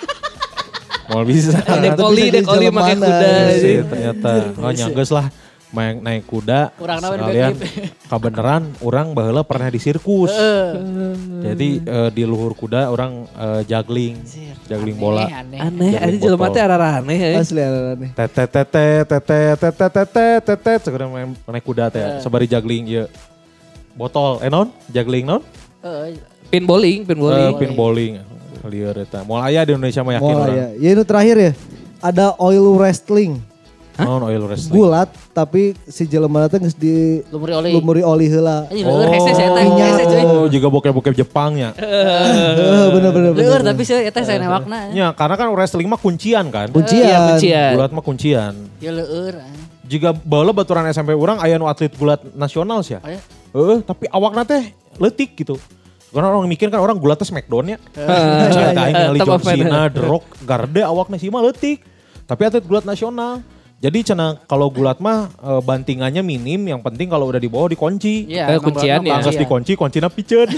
Mau bisa. Dekoli, bisa dekoli jadi pakai jalan kuda. mana. Sih, ternyata. Oh nyanggeus lah main naik kuda. Urang naon sekalian backflip. kabeneran orang baheula pernah di sirkus. Jadi eh, di luhur kuda orang eh, juggling, juggling bola. Aneh, aneh. Aneh, Jadi aja jelema botol. teh arah aneh ya. Asli aneh. Tetet tetet tetet tetet tetet tetet sekarang main naik kuda teh sabari juggling ieu. Botol eh non? Juggling non? Heeh. Pin bowling, pin Eh, bowling. pin bowling. Lieur eta. Moal aya di Indonesia mah yakin Oh orang. ya. Ya ini terakhir ya. Ada oil wrestling. Non oil wrestling. Gulat tapi si jelema teh geus di Lumuri oli. lumuri oli heula. Anjing leur hese saya teh minyak. hese cuy. Oh, juga bokep-bokep Jepangnya. Heeh, bener bener bener. Leur tapi saya eta saya newakna. Ya, karena kan wrestling mah kuncian kan. Kuncian. Iya, kuncian. Gulat mah kuncian. Ya leur. Juga baheula baturan S M P urang aya nu atlet gulat nasional sih ya. Aya. Heeh, tapi awakna teh leutik gitu. Karena orang mikir kan orang gulat teh Smackdown ya. Cerita aing ningali Top John of mind. Cena, The Rock, Garde awakna sih mah leutik. Tapi atlet gulat nasional. Jadi cenah kalau gulat mah e, bantingannya minim, yang penting kalau udah di bawah dikunci. Iya, Eh, emang kuncian bener, ya. Angkas iya. dikunci, kuncinya piceun.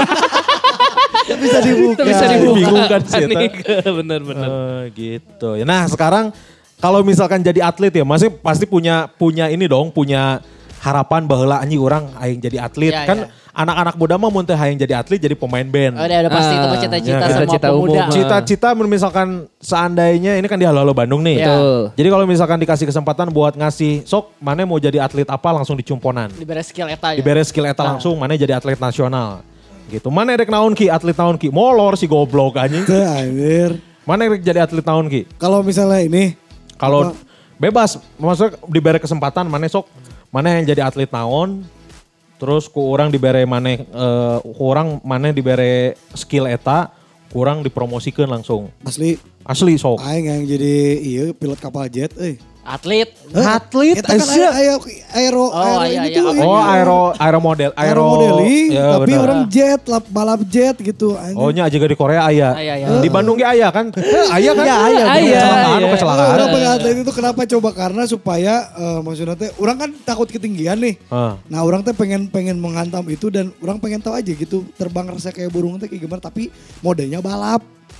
Bisa dibuka. Bisa dibuka. Bingung kan sih eta. Bener-bener. Eh, gitu. Nah sekarang kalau misalkan jadi atlet ya, masih pasti punya punya ini dong, punya harapan baheula anjing orang aing jadi atlet. Ya, kan ya. anak-anak muda mah mun teu hayang jadi atlet jadi pemain band. Oh, udah, udah pasti itu mah Ah, cita-cita ya, semua cita-cita pemuda. umum. Cita-cita misalkan seandainya ini kan di Halo Halo Bandung nih. Ya. Betul. Jadi kalau misalkan dikasih kesempatan buat ngasih sok mana mau jadi atlet apa langsung dicumponan. Diberi skill eta ya. Diberes skill eta Nah. langsung mana jadi atlet nasional. Gitu. Mana rek naon ki atlet naon ki? Molor si goblok anjing. Teu anjir. Mana rek jadi atlet naon ki? Kalau misalnya ini Kalau Apa? bebas, maksudnya diberi kesempatan mana sok, mana yang jadi atlet naon, terus ku orang diberi mana, eh, ku orang mana diberi skill eta, kurang dipromosikan langsung. asli Asli sok. aing yang jadi iya pilot kapal jet euy. Atlet. Atlet, Eta kan aya aya aero Oh, aero iya, ini iya, tuh. apa Oh aero, aero model, aero aero, modeling ya, tapi bener. orang jet lap, balap jet gitu anjing. Oh nya juga di Korea aya. Aya, aya. Di Bandung ge aya kan? Aya kan? Ya, aya. Aya, Kecelakaan, aya. kecelakaan. Orang pengen atlet itu kenapa coba karena supaya eh, maksudnya teh orang kan takut ketinggian nih. Ah. Nah orang teh pengen pengen menghantam itu dan orang pengen tahu aja gitu terbang rasa kayak burung teh kayak gimana tapi modenya balap.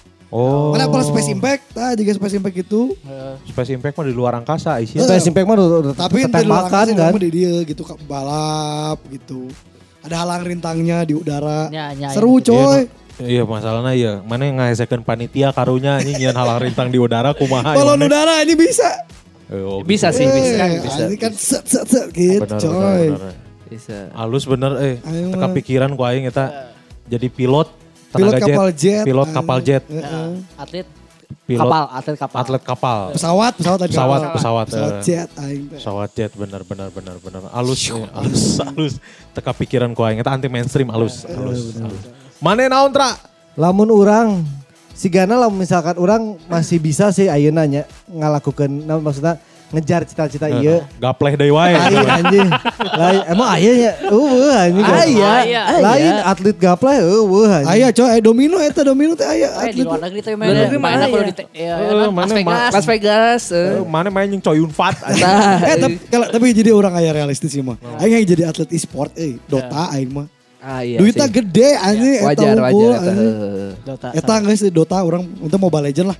Oh. Mana kalau Space Impact, nah juga Space Impact itu. Space Impact mah di luar angkasa isinya. Space Impact mah udah udah Tapi ente tembakan kan. di dia gitu Kak, balap gitu. Ada halang rintangnya di udara. Ya, ya, Seru ya. coy. Iya masalahnya iya, mana yang ngahesekeun panitia karunya anjing nyian halang rintang di udara kumaha. Balon ini? udara ini bisa. Eh, oh, Bisa gitu. sih, bisa. Eh, bisa. Ini kan set set set gitu Bener, coy. bener, bener. Bisa. Halus bener eh, Ayo, teka mah. pikiran ku aing eta jadi pilot Pilot tenaga kapal jet. Pilot ayo. kapal jet, Heeh. Atlet pilot kapal, atlet kapal. atlet kapal. Pesawat, pesawat tadi. Pesawat, kapal. pesawat, Pesawat eh. jet aing teh. Pesawat jet bener bener bener bener halus eh, halus halus teka pikiran ku aing eta anti mainstream halus halus. halus. Mane naon tra? Lamun orang sigana lamun misalkan orang masih bisa sih ayeuna nya ngalakukeun nah, maksudnya ngejar cita-cita ieu. Gapleh deui wae. Lain anjing. Lain emang aya nya eueuh anjing. Aya, aya. Lain atlet gapleh eueuh anjing. Aya coy, eh, domino eta domino teh aya. Eh, di atlet. luar negeri tuh Luar negeri mah main aku aya. di te- ya, Eh, non, mana Las Vegas. Las Vegas. eh. Eh, Mane main yang Choi Yun Fat anjing. Nah, Eh tapi kalau tapi jadi orang aya realistis sih mah. Aing yang jadi atlet e-sport eh Dota aing mah. ah, iya Duitnya sih. gede anjing eta Wajar, wajar. unggul, eta, anjing. heeh. Dota. Eta geus Dota orang untuk Mobile Legend lah.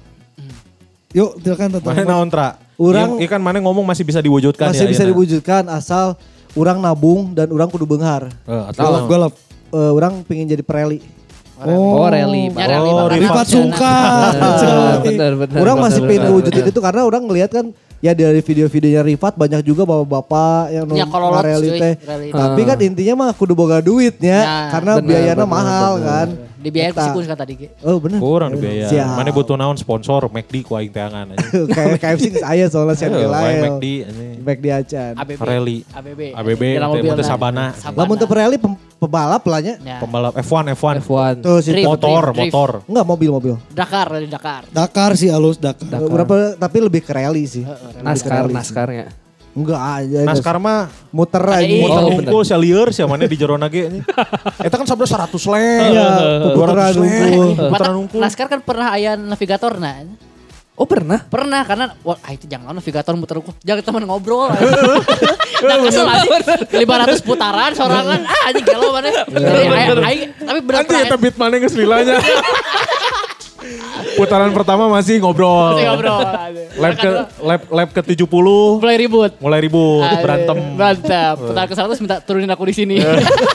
Yuk, silakan Mane tentang. naon tra? Urang- Iya kan Mane ngomong masih bisa diwujudkan Masih ya. bisa ayeuna. diwujudkan asal orang nabung dan orang kudu beunghar. Eh, atau Golf, golf. Eh, orang pengen jadi preli. Oh, rally. Ya, rally Oh, banget. Rifat Sungkar. Eh, Bener, bener. Orang bener, masih bener, pengen bener. ngewujudin itu karena orang ngelihat kan ya dari video-videonya Rifat banyak juga bapak-bapak yang Ya, kalau lot, rally cuy, teh. rally. Tapi kan intinya mah kudu boga duitnya Ya, karena bener, biayanya bener, mahal bener. kan. Dibiayain ku Eta. si Kun kan tadi ge. Oh bener. Kurang dibayar. Siap. Mana butuh naon sponsor McD ku aing teangan aja. Kayak K F C geus aya soalnya sian Ayo, wae lain. McD anjing. McD acan. A B B. Rally. A B B. A B B Dalam teh mobil mun teh nah. sabana. Lamun teu Pirelli pem- pebalap lah nya. Ya. Pembalap F satu F satu. F satu. Tuh si Drift. Motor, drift. motor. enggak mobil-mobil. Dakar dari Dakar. Dakar sih halus Dakar. Berapa tapi lebih ke rally sih. Naskar, naskarnya. Enggak aja. Naskar mah muter aja. Ada muter Oh, hungkul sia lieur sia mana di jero nage nya. Eta kan sabda seratus leng. Iya, dua ratus puteran leng. hungkul. Puteran hungkul. Naskar kan pernah aya navigator nah. Oh pernah? Pernah karena wah ah, itu jangan navigator muter hukum. Jangan teman ngobrol. Nah, kesel aja lima ratus putaran sorangan. Ah anjing gelo mana. Jadi aing aing tapi Nanti benar-benar eta beat mana geus lilanya. Putaran pertama masih ngobrol. masih ngobrol. Lap ke lap lap ke tujuh puluh Mulai ribut. mulai ribut, Aduh, berantem. Berantem. Putaran ke seratus minta turunin aku di sini.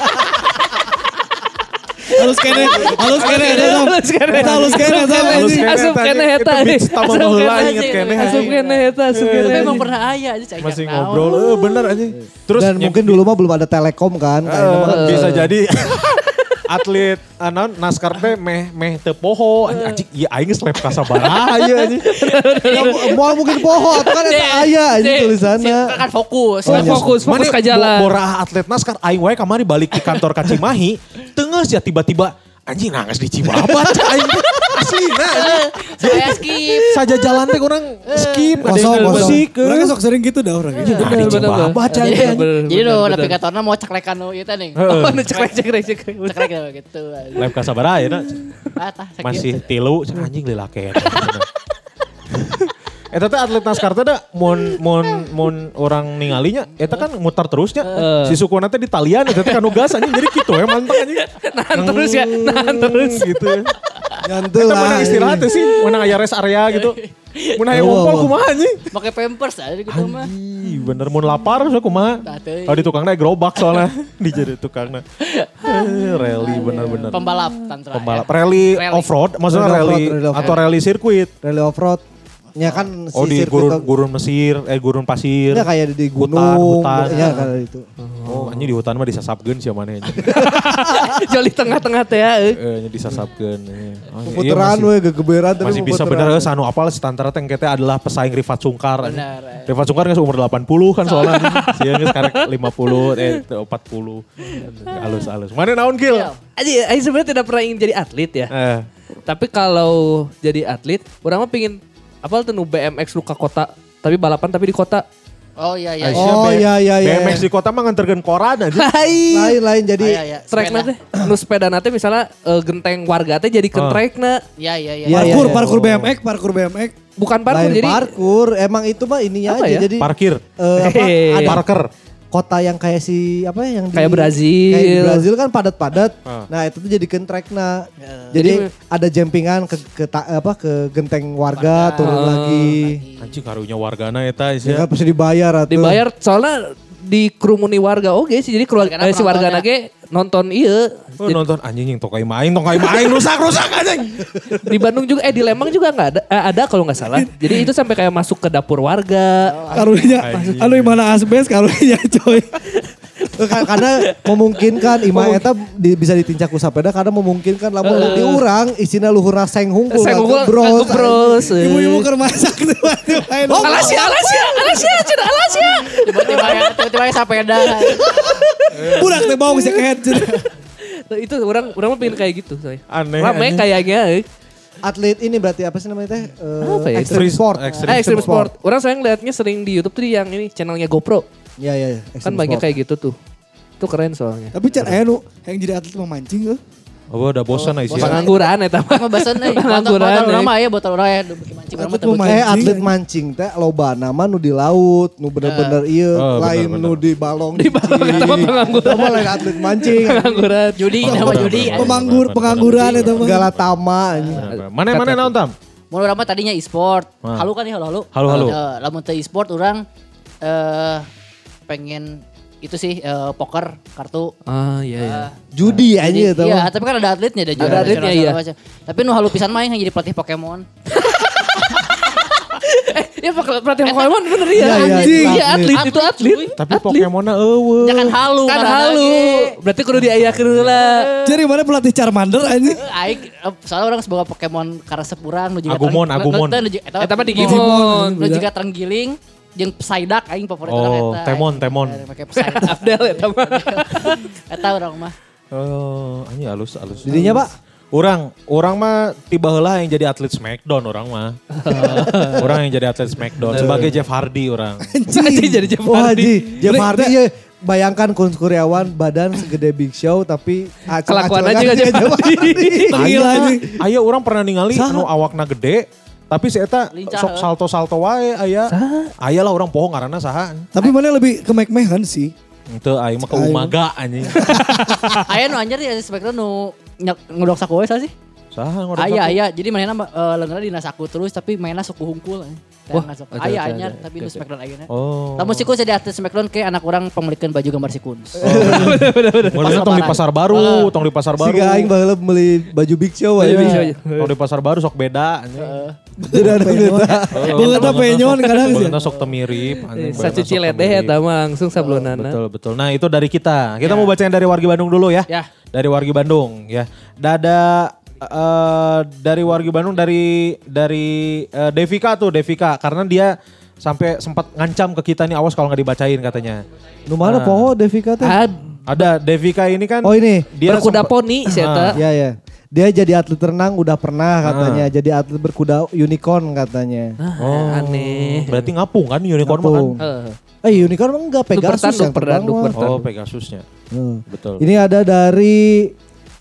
Halus kene, halus kene eta. Halus kene. Eta halus kene eta. Halus kene. Asup kene Itu eta. beats tama Asup baheula kene. inget kene. Asup kene eta, asup Tapi kene. emang pernah aya aja cai. Masih ngobrol, eh bener aja. Terus Dan mungkin dulu mah belum ada telekom kan. eh, Kayaknya mah. bisa jadi atlet anon naskar teh meh meh teu poho anjing ieu aing geus lap ka sabaraha ieu anjing. Ya, mau mungkin poho atau kan eta aya aja tulisannya. Kan fokus. Oh, fokus, fokus Mane ke jalan. bo- Borah atlet naskar aing wae kamari balik ke kantor ka Cimahi, teungeus ya tiba-tiba anjing nangis di Cibabat aing aslina anjing. Saya skip. Saja jalan teh orang skip ada Kosong, yang kosong. musik. Orangnya sok sering gitu dah orangnya. Nah, di Bener, bener, Cibabat Jadi, aja. jadi lo navigatornya mau ceklekan lo itu nih. Oh, nu cekrek cekrek cekrek. Ceklek gitu. Lab ka sabaraha ya Ah, tah, sakit. masih tilu cek anjing lilake. Eta teh atlet naskar teh da mun mun mun orang ningalinya eta kan muter terusnya. Si sukuna teh di talian eta teh kanu gas anjing jadi kitu ya mantap anjing. Nahan terus ya, nahan terus. gitu. Nyantul Kita lah. menang istirahat sih, menang aya rest area gitu. Mun aya Oh. ngompol kumaha anjing? Pakai pampers aja gitu mah. Ih, bener mun lapar so kumaha. Tah, teuing. Kalau di tukangnya gerobak soalnya di jadi tukangnya. Eh, Rally bener-bener. Pembalap tantra. Pembalap ya. rally Rally. off-road, maksudnya Rally rally off-road, rally off-road. atau rally sirkuit. Rally off-road. Ya kan si Oh di sirkuit gurun, tuh- gurun Mesir, eh gurun pasir. Ya kayak di Hutan, gunung. hutan. Ya kayak itu. Oh, anjing di hutan mah disasapkeun sia maneh. Joli tengah-tengah teh ya. eh. Eh, nya disasapkeun. eh. Oh, iya, Puteran masih- we gegeberan tapi Masih bisa puteran. bener sanu apal si Tantara teh engke teh adalah pesaing Rifat Sungkar. anjing. Benar. eh. Rifat Sungkar geus umur delapan puluh kan soalnya. Sia geus karek lima puluh eh empat puluh. Halus-halus. Mana naon Gil? Iya. Aji, Aji sebenarnya tidak pernah ingin jadi atlet ya. Eh, Tapi kalau jadi atlet, orang mah pingin apa tuh nu B M X lu ke kota, tapi balapan tapi di kota. Oh iya iya. Aisyah Oh, B- iya, iya, iya. B M X di kota mah nganterkeun koran aja. Hai. Lain-lain jadi Iya iya. Trek Sepeda. nanti, nu sepeda nanti misalnya eh, genteng warga teh jadi ke Oh. trek na. Iya iya iya. Iya, Parkur, iya. parkur B M X, parkur B M X. Bukan parkur lain jadi parkur. Emang itu mah ininya Apa aja ya? jadi Parkir. eh, apa, Hehe. ada Parker. kota yang kayak si apa ya, yang di, Kayak Brazil. kayak di Brazil kan padat-padat. Ah. Nah, itu tuh jadikan trackna. Ya. Jadi ada jumpingan ke ke ta- apa ke genteng warga, Warga. turun Ah. lagi. Anjing karunya wargana eta Ya sia. kan pasti dibayar atuh. dibayar soalnya dikerumuni warga oke sih jadi keluarga Wargana eh, si warga penontonnya. nage nonton iya. Oh, nonton anjing yang tokai main, tokai main rusak-rusak anjing. Di Bandung juga eh di Lembang juga nggak ada eh, ada kalau nggak salah. Jadi itu sampai kayak masuk ke dapur warga. Karunya, Anjing. anu mana asbes karunya coy. Eh, ka- karena memungkinkan imah eta di- bisa ditincak ku sapeda karena memungkinkan lamun Heeh. diurang isina luhurna seng hungkul. Saya ngukul bros. bros. Ibu-ibu keur masak tiba-tiba. Oh, Alasia, Alasia, Alasia, cina Alasia. Tiba-tiba ya, tiba-tiba ya sepeda. Budak teh bau bisa kehead. Nah, itu orang orang mah pengen kayak gitu saya. Aneh, Rame anjing. kayaknya. eh. Atlet ini berarti apa sih namanya teh? Eh, Apa ya? Extreme Extreme- sport. extreme Eh, extreme sport. Orang saya ngeliatnya sering di YouTube tuh yang ini channelnya GoPro. Iya iya iya. Kan extreme banyak sport. kayak gitu tuh. Itu keren soalnya. Tapi can aya nu yang jadi atlet memancing euy. Oh, udah bosan oh, bosan. Pengangguran eta mah. Mah basen euy. Pengangguran, Botol orang eh. mah ya botol orang ya bikin mancing orang mah Atlet teu mau beuki. Eh Mancing, atlet anjing. mancing teh loba nama nu di laut, nu bener-bener ieu, Oh, lain bener-bener. nu di balong. Di balong, eta mah pengangguran. Itu mah lain atlet mancing. Pengangguran. Judi nama judi. Pemanggur, pengangguran eta mah. Galatama anjing. Mana mana naon tam? Mun urang mah tadinya e-sport. Ah. Halu kan ya halu halu. Halu, halu. Eh, lamun teu e-sport urang eh pengen itu sih eh, poker kartu. Ah iya iya. Eh, Judi aja jadi- itu. Iya, tapi kan ada atletnya ada juara atletnya, nasional iya. segala macam. Tapi nu halu pisan mah yang jadi pelatih Pokemon. Eh, ya pelatihan Pokemon bener ya. Iya, iya, Anjing, itu iya atlet, atlet. itu atlet. Tapi Pokemonnya eueuh. Jangan halu. Kan karena halu. lagi. Berarti kudu diayakeun heula. Jadi mana pelatih Charmander anjing? Aing eh, soalnya orang sebagai Pokemon karesep urang nu jiga Agumon, tereng- Agumon. nu- nu- nu- eta Eta mah Digimon. Digimon. Nu jiga terenggiling jeung Psyduck aing favorit urang Oh, eta. Temon, Aing Temon. Make Psyduck. Abdel eta mah. Eta urang mah. Oh, anjing halus halus. Didinya Pak? Orang, orang mah tiba heula yang jadi atlet Smackdown orang mah. Orang yang jadi atlet Smackdown sebagai Jeff Hardy orang. Anjing jadi Jeff Wah Hardy. Haji, Jeff Hardy ya. Bayangkan Kun Kuryawan badan segede Big Show tapi Kelakuan aja gak Jeff Hardy. Aya aya orang pernah ningali anu awakna gede tapi si eta Lincah, sok heuh. salto-salto wae aya. Aya lah orang poho ngaranna saha. Tapi mana lebih ke meh-mehan sih. Henteu aing mah ke umaga anjing. Aya nu anjir ya Spectre nu nyak ngudok saku we sih. Saha ngorok Aya saku? aya jadi mainna uh, leungeunna dina saku terus tapi mainna suku hungkul. Wah, Wah, ada, aya ada, anyar ada. tapi nu Smackdown ayeuna. Oh. Lamun si Kun jadi artis Smackdown kayak anak orang pemilikan baju gambar si Kun. Bener tong di pasar baru, tong di pasar Si baru. Aing baheula beli baju Big Show Baju aja. Big Show. Tong di pasar baru sok beda anjing. Tidak ada beda. Beungeutna penyon kadang sih. Beungeutna sok teu mirip anjing. beungeutna Sacuci sok teu ledeh mirip. eta mah langsung sablonana. Betul betul. Nah itu dari kita. Kita mau bacain dari Wargi Bandung dulu ya. Ya. Dari Wargi Bandung ya. Dada eh, dari Wargi Bandung dari dari eh, Devika tuh Devika karena dia sampai sempat ngancam ke kita nih awas kalau nggak dibacain katanya. Nu mana poho Devika teh? Ah, Ada Devika ini kan. Oh ini. Dia berkuda sempat- poni si eta. Ya ya. Dia jadi atlet renang udah pernah katanya. Jadi atlet berkuda unicorn katanya. Oh, Aneh. Berarti ngapung kan unicorn mah kan? Ngapung. Heeh. Eh unicorn mah enggak Pegasus tanduk, yang terbang tanduk, mah. bertanduk. Oh Pegasusnya. Heeh. Betul. Ini ada dari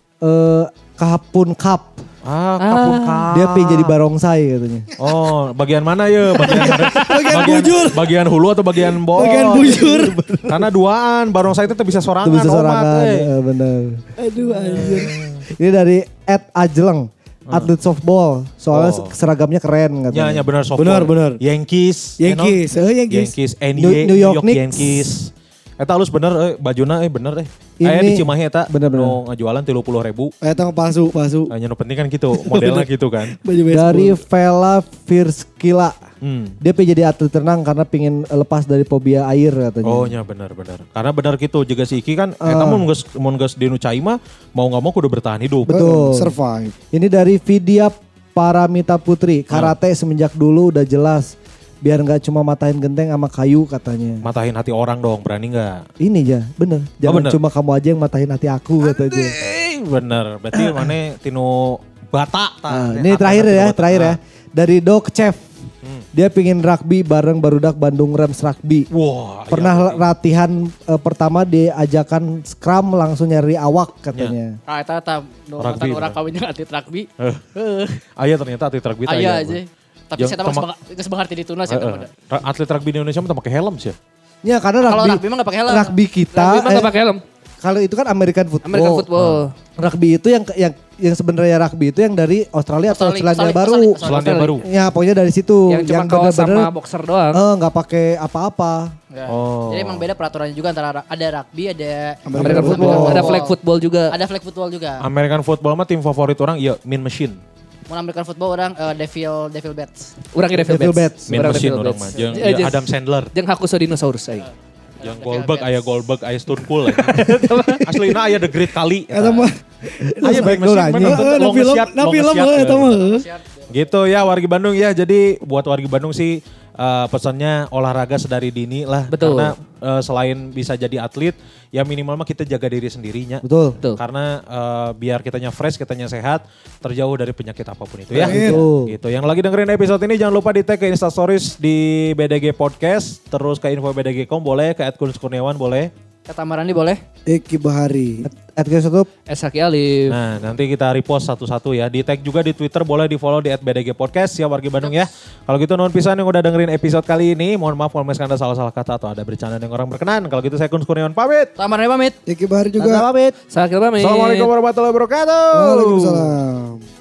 eh Kapun Cup. Ah, kapun kap. Dia pengen jadi barongsai katanya. Oh, bagian mana ya? Bagian bagian bujur. Bagian hulu atau bagian bawah? Bagian bujur. Karena duaan, barongsai itu tuh bisa sorangan. Itu bisa omat, sorangan, eh. eh, bener. Aduh anjir. Ini dari Ed Ajleng, atlet softball. Soalnya Oh. seragamnya keren Ya, katanya. ya benar softball. Benar, benar. Yankees. Yankees, you know? eh Yankees. Yankees, N B A, New- New York Knicks. Yankees. Eta halus bener, eh, bajuna eh bener eh. Ini- Aya di Cimahi eta, bener, bener. nu ngajualan tiga puluh ribu. Eta mah palsu, palsu. Hanya nu penting kan gitu, modelnya gitu kan. Baju baseball. Dari Vela Firskila. Hmm. Dia pengen jadi atlet renang karena pengen lepas dari fobia air katanya. Oh nya benar benar. Karena benar gitu juga si Iki kan eta Ah. mun geus mun geus di nu cai mah mau enggak mau kudu bertahan hidup. Betul. Eh, survive. Ini dari Vidya Paramita Putri. Karate semenjak dulu udah jelas. Biar nggak cuma matahin genteng sama kayu katanya. Matahin hati orang dong, berani nggak? Ini ya, bener. Jangan bener. cuma kamu aja yang matahin hati aku katanya. Eh, bener. Berarti mana tinu bata. Nah, ini terakhir ya, terakhir ya. Dari Doc Chef. Dia pingin rugby bareng barudak Bandung Rams Rugby. Wah. Pernah latihan eh, pertama diajakan scrum langsung nyari awak katanya. Ah eta eta nu Rugby, mantan urang bener. kawin jeung atlet rugby. Eh. Aya ternyata atlet rugby teh Aya aya. aja. Tapi Yang saya tahu temak- geus beunghar ti dituna Eh, saya tahu. eh. Ra- Atlet rugby di Indonesia mah teu pakai helm sih. Ya karena Kalau rugby, rugby mah nggak pakai helm. rugby kita, Rugby mah eh, gak pakai helm. kalau itu kan American football. American football. Rugby itu yang yang yang sebenarnya rugby itu yang dari Australia atau Australia, Selandia Australia, Baru. Australia. Selandia Baru. Ya pokoknya dari situ. Yang cuma kaos sama boxer doang. eh, nggak pakai apa-apa. Ya. Oh. Jadi emang beda peraturannya juga antara ada rugby, ada American football. Ada flag football juga. Ada flag football juga. American football mah tim favorit orang iya Mean Machine. Mun American football orang eh, Devil Devil Bats. Urang Devil, Devil Bats. Bats. Mean Urang Machine Devil orang Bats. mah. Jeung Eh, ieu jeung- Adam Sandler. Jeung Hakusodinosaurus aing. Yang Goldberg aya Goldberg aya Stone Cold. Aslina aya The Great Kali. Eta mah. Aya Mean Machine Smackdown mah aja. nonton Eh, na long film, shot, na long film shot, eh, eta eh. mah. Gitu ya Wargi Bandung ya. Jadi buat Wargi Bandung sih eh, pesannya olahraga sedari dini lah. Betul. Karena eh, selain bisa jadi atlet, ya minimal mah kita jaga diri sendirinya. Betul. Betul. Karena eh, biar kitanya fresh, kitanya sehat, terjauh dari penyakit apapun itu ya. Betul. Gitu. Yang lagi dengerin episode ini jangan lupa di tag ke Instastories di B D G Podcast, terus ke info B D G titik com boleh, ke at Kunz Kurniawan boleh. Kata Marandi boleh? Eki Bahari. At guys tutup. Esaki Alif. Nah nanti kita repost satu-satu ya. Di tag juga di Twitter boleh di follow di at B D G Podcast ya Wargi Bandung ya. Kalau gitu nuhun pisan yang udah dengerin episode kali ini. Mohon maaf kalau misalkan ada salah-salah kata atau ada bercandaan yang orang berkenan. Kalau gitu saya Kunz Kurniawan pamit. Kata Marandi pamit. Eki Bahari Tata juga. pamit. Sakil pamit. Assalamualaikum warahmatullahi wabarakatuh. Waalaikumsalam.